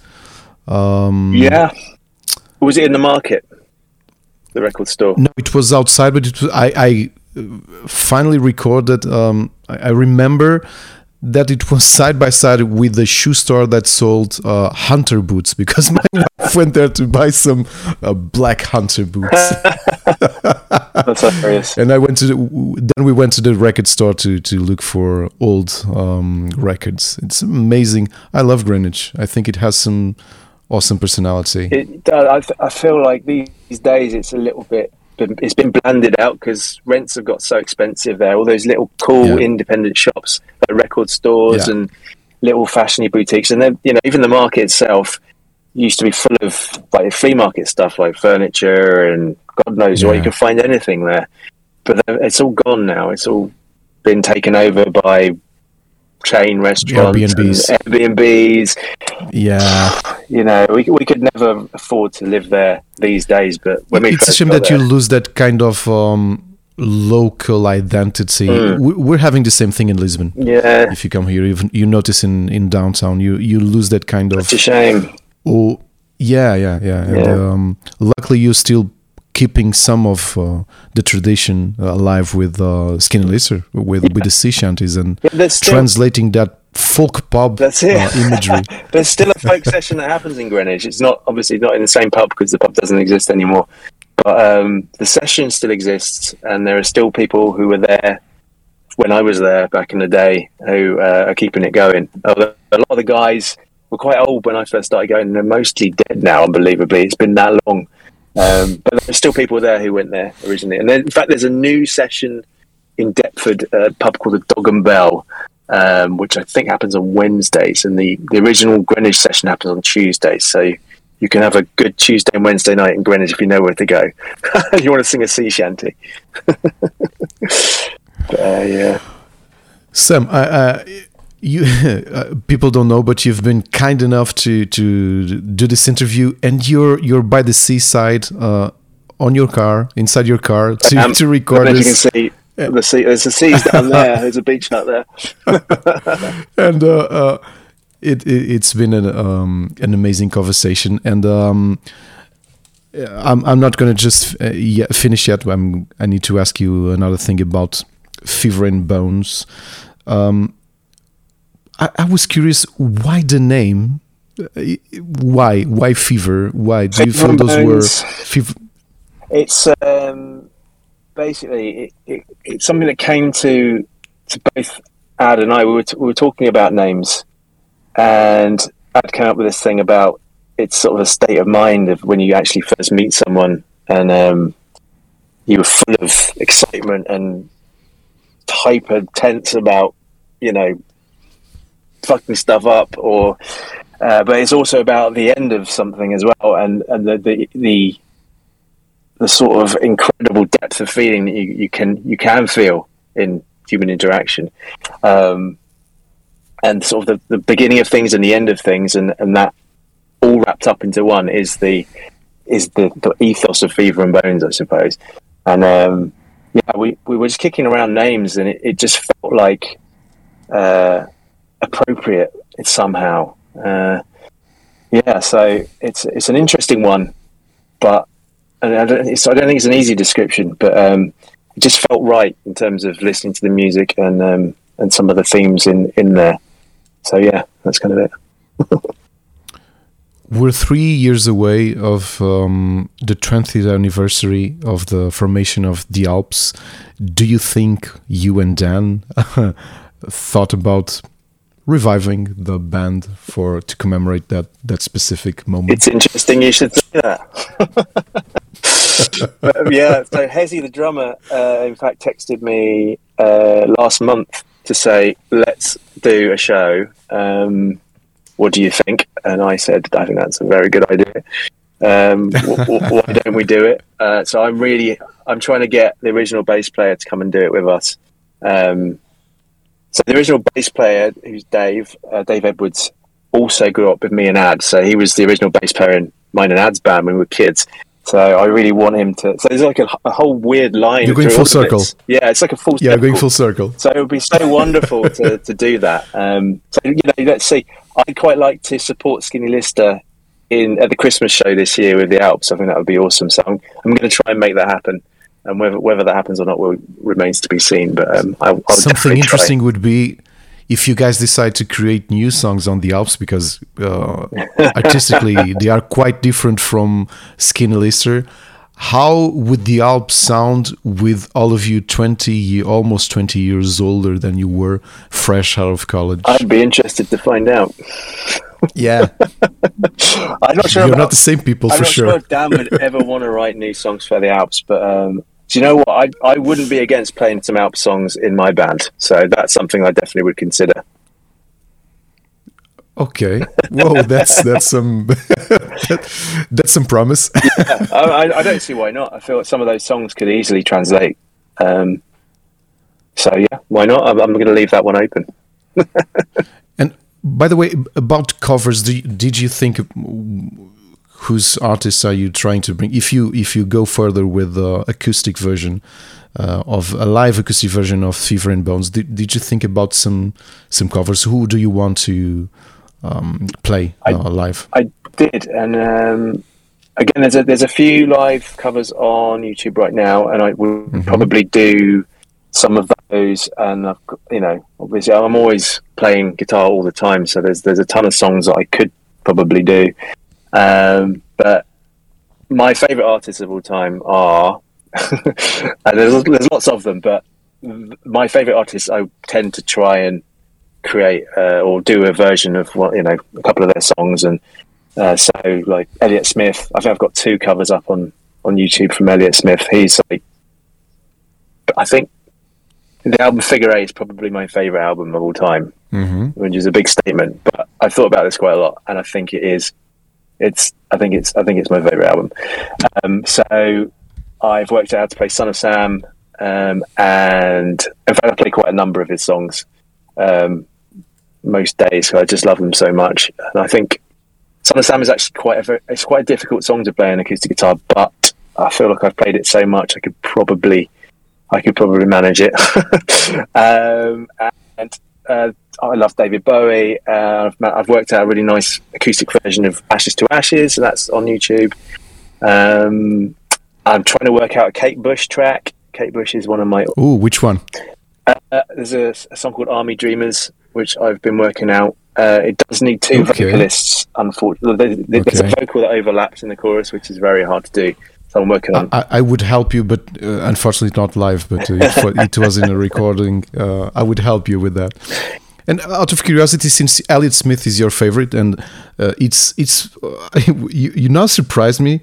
Was it in the market? The record store? No, it was outside, but it was, I finally recorded. I remember that it was side by side with the shoe store that sold hunter boots, because my wife went there to buy some black hunter boots. That's hilarious. And then we went to the record store to look for old records. It's amazing. I love Greenwich. I think it has some awesome personality. It does. I feel like these days it's a little bit. It's been blanded out because rents have got so expensive there. All those little cool independent shops, like record stores and little fashiony boutiques, and then, you know, even the market itself used to be full of like flea market stuff, like furniture and God knows what. You can find anything there, but it's all gone now. It's all been taken over by chain restaurants, Airbnbs. Yeah, you know, we could never afford to live there these days. But when it's a shame that you lose that kind of local identity. We're having the same thing in Lisbon. Yeah, if you come here, you notice in downtown, you lose that kind of. It's a shame. Oh, yeah. And, luckily, you're still keeping some of the tradition alive with Skinny Lister, with the sea shanties, and translating that folk pub imagery. There's still a folk session that happens in Greenwich. It's obviously not in the same pub because the pub doesn't exist anymore. But the session still exists, and there are still people who were there when I was there back in the day who are keeping it going. A lot of the guys were quite old when I first started going, and they're mostly dead now, unbelievably. It's been that long. But there's still people there who went there originally. And then, in fact, there's a new session in Deptford, a pub called the Dog and Bell, which I think happens on Wednesdays. And the original Greenwich session happens on Tuesdays. So you can have a good Tuesday and Wednesday night in Greenwich if you know where to go. You want to sing a sea shanty. Sam, you people don't know, but you've been kind enough to do this interview, and you're by the seaside on your car, inside your car, to record this. You can see there's a seas down there. There's a beach out there. And It's been an amazing conversation, and I'm not going to just finish yet. I need to ask you another thing about Fever and Bones. I was curious, why the name? Why Fever? Why do you feel those were fever? It's basically it's something that came to both Ad and I. We were talking about names, and Ad came up with this thing about it's sort of a state of mind of when you actually first meet someone, and you were full of excitement and hyper tense about, you know, fucking stuff up, or but it's also about the end of something as well, and the sort of incredible depth of feeling that you can feel in human interaction, and sort of the beginning of things and the end of things, and that all wrapped up into one is the ethos of Fever and Bones, I suppose. And we were just kicking around names, and it just felt like appropriate somehow. So it's an interesting one, but I don't think it's an easy description, but it just felt right in terms of listening to the music and some of the themes in there. So yeah, that's kind of it. We're 3 years away of the 20th anniversary of the formation of the Alps. Do you think you and Dan thought about reviving the band to commemorate that specific moment? It's interesting you should say that. Yeah, so Hezi, the drummer, in fact, texted me last month to say, let's do a show. What do you think? And I said, I think that's a very good idea. Why don't we do it? So I'm trying to get the original bass player to come and do it with us. So the original bass player, who's Dave Edwards, also grew up with me and Ad. So he was the original bass player in mine and Ad's band when we were kids. So I really want him to. So there's like a whole weird line. You're going full circle. Yeah, it's like a full circle. Yeah, going full circle. So it would be so wonderful to do that. So let's see. I'd quite like to support Skinny Lister at the Christmas show this year with the Alps. I think that would be awesome. So I'm going to try and make that happen. And whether that happens or not remains to be seen. But I'll something interesting try. Would be if you guys decide to create new songs on the Alps, because artistically they are quite different from Skinny Lister. How would the Alps sound with all of you almost 20 years older than you were, fresh out of college? I'd be interested to find out. Yeah. I'm not sure. You're not the same people, for sure. I'm not sure if Dan would ever want to write new songs for the Alps, but do you know what? I wouldn't be against playing some Alps songs in my band, so that's something I definitely would consider. Okay. Whoa, that's some that's some promise. Yeah, I don't see why not. I feel like some of those songs could easily translate. So yeah, why not? I'm going to leave that one open. And by the way, about covers, did you think whose artists are you trying to bring? If you go further with the acoustic version of a live acoustic version of Fever and Bones, did you think about some covers? Who do you want to play live? I did, and again, there's a few live covers on YouTube right now, and I would probably do some of those. And I've got, obviously, I'm always playing guitar all the time, so there's a ton of songs that I could probably do. But my favourite artists of all time are, and there's lots of them, but my favourite artists I tend to try and create or do a version of a couple of their songs. And so like Elliott Smith, I think I've got 2 covers up on YouTube from Elliott Smith. He's like, I think the album Figure 8 is probably my favourite album of all time, which is a big statement, but I've thought about this quite a lot, and I think it is. I think it's my favourite album. So I've worked out how to play Son of Sam, and in fact I play quite a number of his songs most days, so I just love them so much. And I think Son of Sam is actually quite a difficult song to play on acoustic guitar, but I feel like I've played it so much I could probably manage it. And I love David Bowie. I've worked out a really nice acoustic version of Ashes to Ashes, and that's on YouTube. I'm trying to work out a Kate Bush track. Kate Bush is one of my... Ooh, which one? There's a song called Army Dreamers, which I've been working out. It does need two vocalists, unfortunately. There's a vocal that overlaps in the chorus, which is very hard to do. So I'm working on... I would help you, but unfortunately not live, but if it was in a recording, I would help you with that. And out of curiosity, since Elliott Smith is your favorite, and you now surprised me.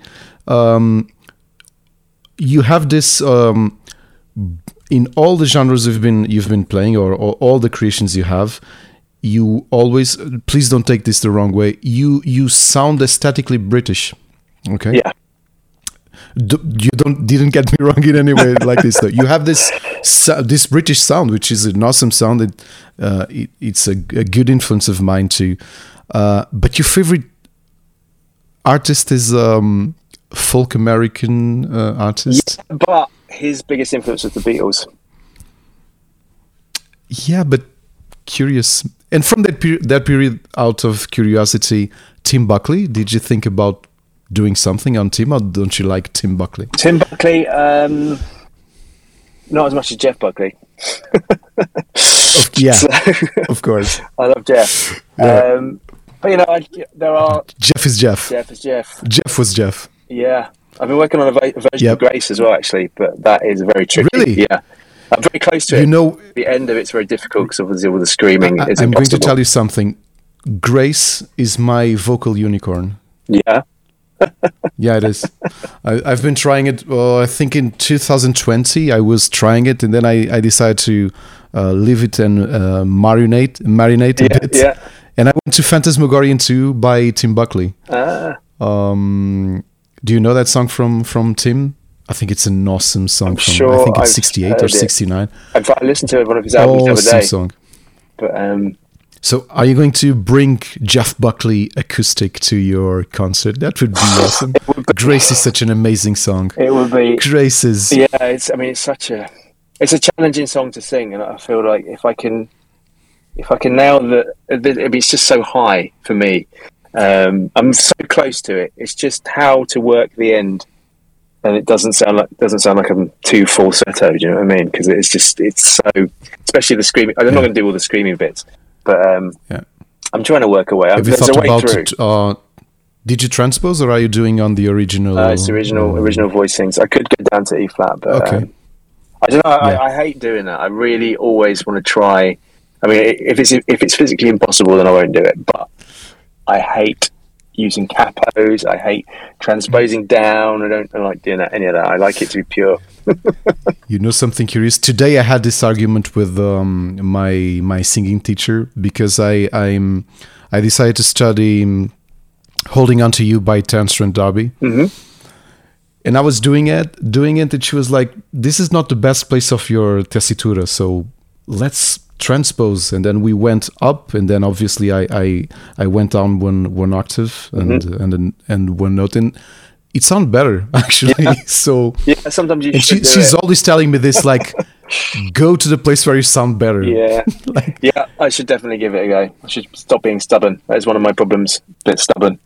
You have this in all the genres you've been playing, or all the creations you have. You always, please don't take this the wrong way. You sound aesthetically British. Okay. Yeah. You didn't get me wrong in any way like this though. You have this British sound, which is an awesome sound. It's a good influence of mine too. But your favorite artist is folk American artist. Yeah, but his biggest influence was the Beatles. Yeah, but curious. And from that period, out of curiosity, Tim Buckley. Did you think about doing something on Tim, or don't you like Tim Buckley? Tim Buckley, not as much as Jeff Buckley. Of course. I love Jeff. Yeah. But there are... Jeff is Jeff. Jeff is Jeff. Jeff was Jeff. Yeah. I've been working on a version of Grace as well, actually, but that is very tricky. Really? Yeah. I'm very close to it. The end of it's very difficult because obviously with the screaming, it's I'm impossible. going to tell you something. Grace is my vocal unicorn. Yeah. Yeah, it is. I've been trying it. I think in 2020 I was trying it, and then I decided to leave it and marinate a bit. Yeah. And I went to Phantasmagorian 2 by Tim Buckley. Do you know that song from Tim? I think it's an awesome song. I think it's 68 or 69. In fact, I listened to one of his albums the other day. Song. But so are you going to bring Jeff Buckley acoustic to your concert? That would be awesome. Grace is such an amazing song. It would be. Grace is... Yeah, it's a challenging song to sing, and I feel like if I can nail it's just so high for me. I'm so close to it. It's just how to work the end, and it doesn't sound like I'm too falsetto. Do you know what I mean? Because it's so, especially the screaming. I'm not going to do all the screaming bits, but I'm trying to work away. Have you thought about did you transpose, or are you doing on the original? It's the original voicings. I could go down to E flat, but okay. I don't know. I hate doing that. I really always want to try. I mean, if it's physically impossible, then I won't do it. But I hate using capos. I hate transposing down. I don't like doing any of that. I like it to be pure. You know something curious? Today I had this argument with my singing teacher because I decided to study "Holding On to You" by Terence Trent D'Arby. Mm-hmm. And I was doing it, and she was like, "This is not the best place of your tessitura, so let's transpose." And then we went up, and then obviously I went down one octave and one note, and it sounded better actually. Yeah. So sometimes you. And she's always telling me this, like, go to the place where you sound better. Yeah, I should definitely give it a go. I should stop being stubborn. That is one of my problems. A bit stubborn.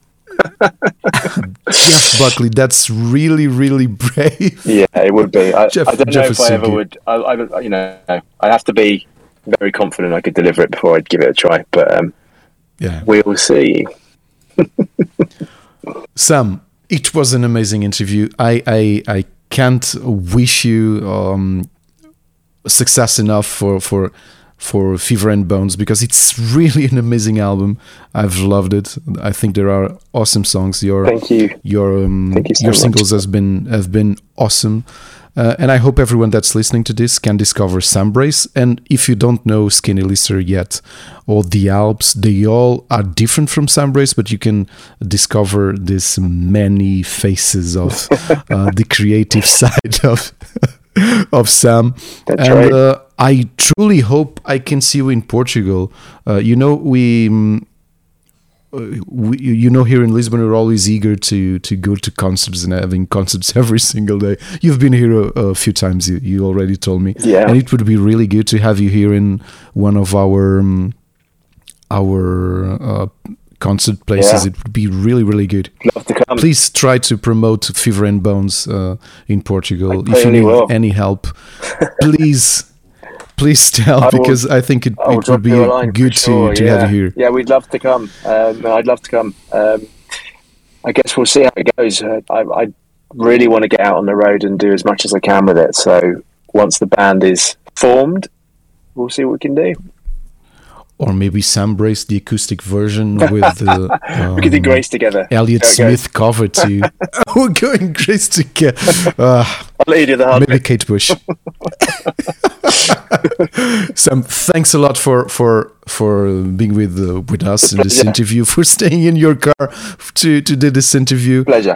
Jeff Buckley, that's really, really brave. Yeah, it would be. I don't know if I ever would. I have to be very confident I could deliver it before I'd give it a try. But we will see. Sam, it was an amazing interview. I can't wish you success enough for Fever and Bones, because it's really an amazing album. I've loved it. I think there are awesome songs. Thank you. Thank you so much. Singles have been awesome. And I hope everyone that's listening to this can discover Sam Brace. And if you don't know Skinny Lister yet, or the Alps, they all are different from Sam Brace, but you can discover these many faces of the creative side of Sam. That's right. I truly hope I can see you in Portugal. here in Lisbon, we're always eager to go to concerts and having concerts every single day. You've been here a few times. You already told me, yeah. And it would be really good to have you here in one of our concert places. Yeah. It would be really, really good. Love to come. Please try to promote Fever and Bones in Portugal. If you need any help, please tell, because I think it would be good to have you here. Yeah, we'd love to come. I'd love to come. I guess we'll see how it goes. I really want to get out on the road and do as much as I can with it. So once the band is formed, we'll see what we can do. Or maybe Sam Brace, the acoustic version with we could do Grace together. Elliott Smith cover too. We're going Grace together. I'll let you do the hard maybe bit. Kate Bush. Sam, thanks a lot for being with us in this interview, for staying in your car to do this interview. Pleasure.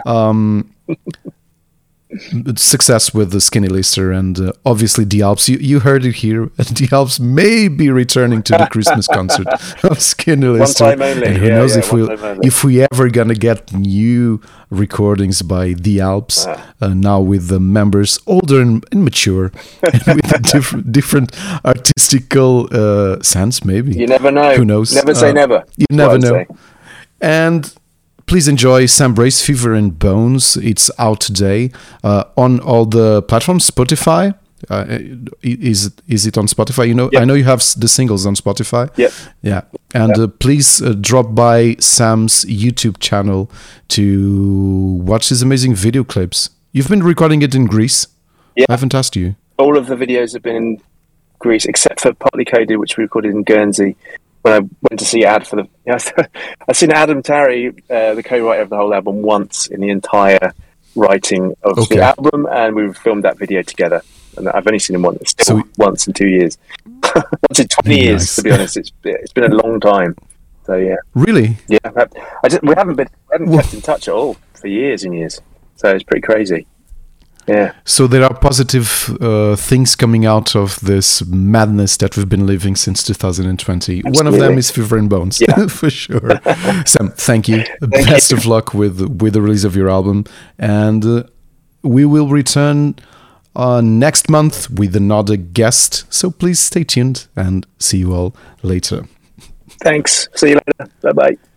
Success with the Skinny Lister and obviously the Alps. You heard it here. The Alps may be returning to the Christmas concert of Skinny Lister. One time only. And who knows if we ever gonna get new recordings by the Alps now with the members older and mature and with a different artistical sense. Maybe you never know. Who knows? Never say never. You never know. And please enjoy Sam Brace, Fever and Bones. It's out today on all the platforms. Spotify. Is it on Spotify? Yep. I know you have the singles on Spotify. Yep. Yeah. And please drop by Sam's YouTube channel to watch his amazing video clips. You've been recording it in Greece. Yeah. I haven't asked you. All of the videos have been in Greece, except for Partly Coded, which we recorded in Guernsey. When I went to see I've seen Adam Tarry, the co-writer of the whole album, once in the entire writing of the album, and we filmed that video together. And I've only seen him once in 2 years. Once in 20 years, to be honest. It's been a long time. So yeah. Really? Yeah. We haven't kept in touch at all for years and years. So it's pretty crazy. Yeah. So there are positive things coming out of this madness that we've been living since 2020. Absolutely. One of them is Fever and Bones, for sure. Sam, thank you. Best of luck with the release of your album. And we will return next month with another guest. So please stay tuned and see you all later. Thanks. See you later. Bye-bye.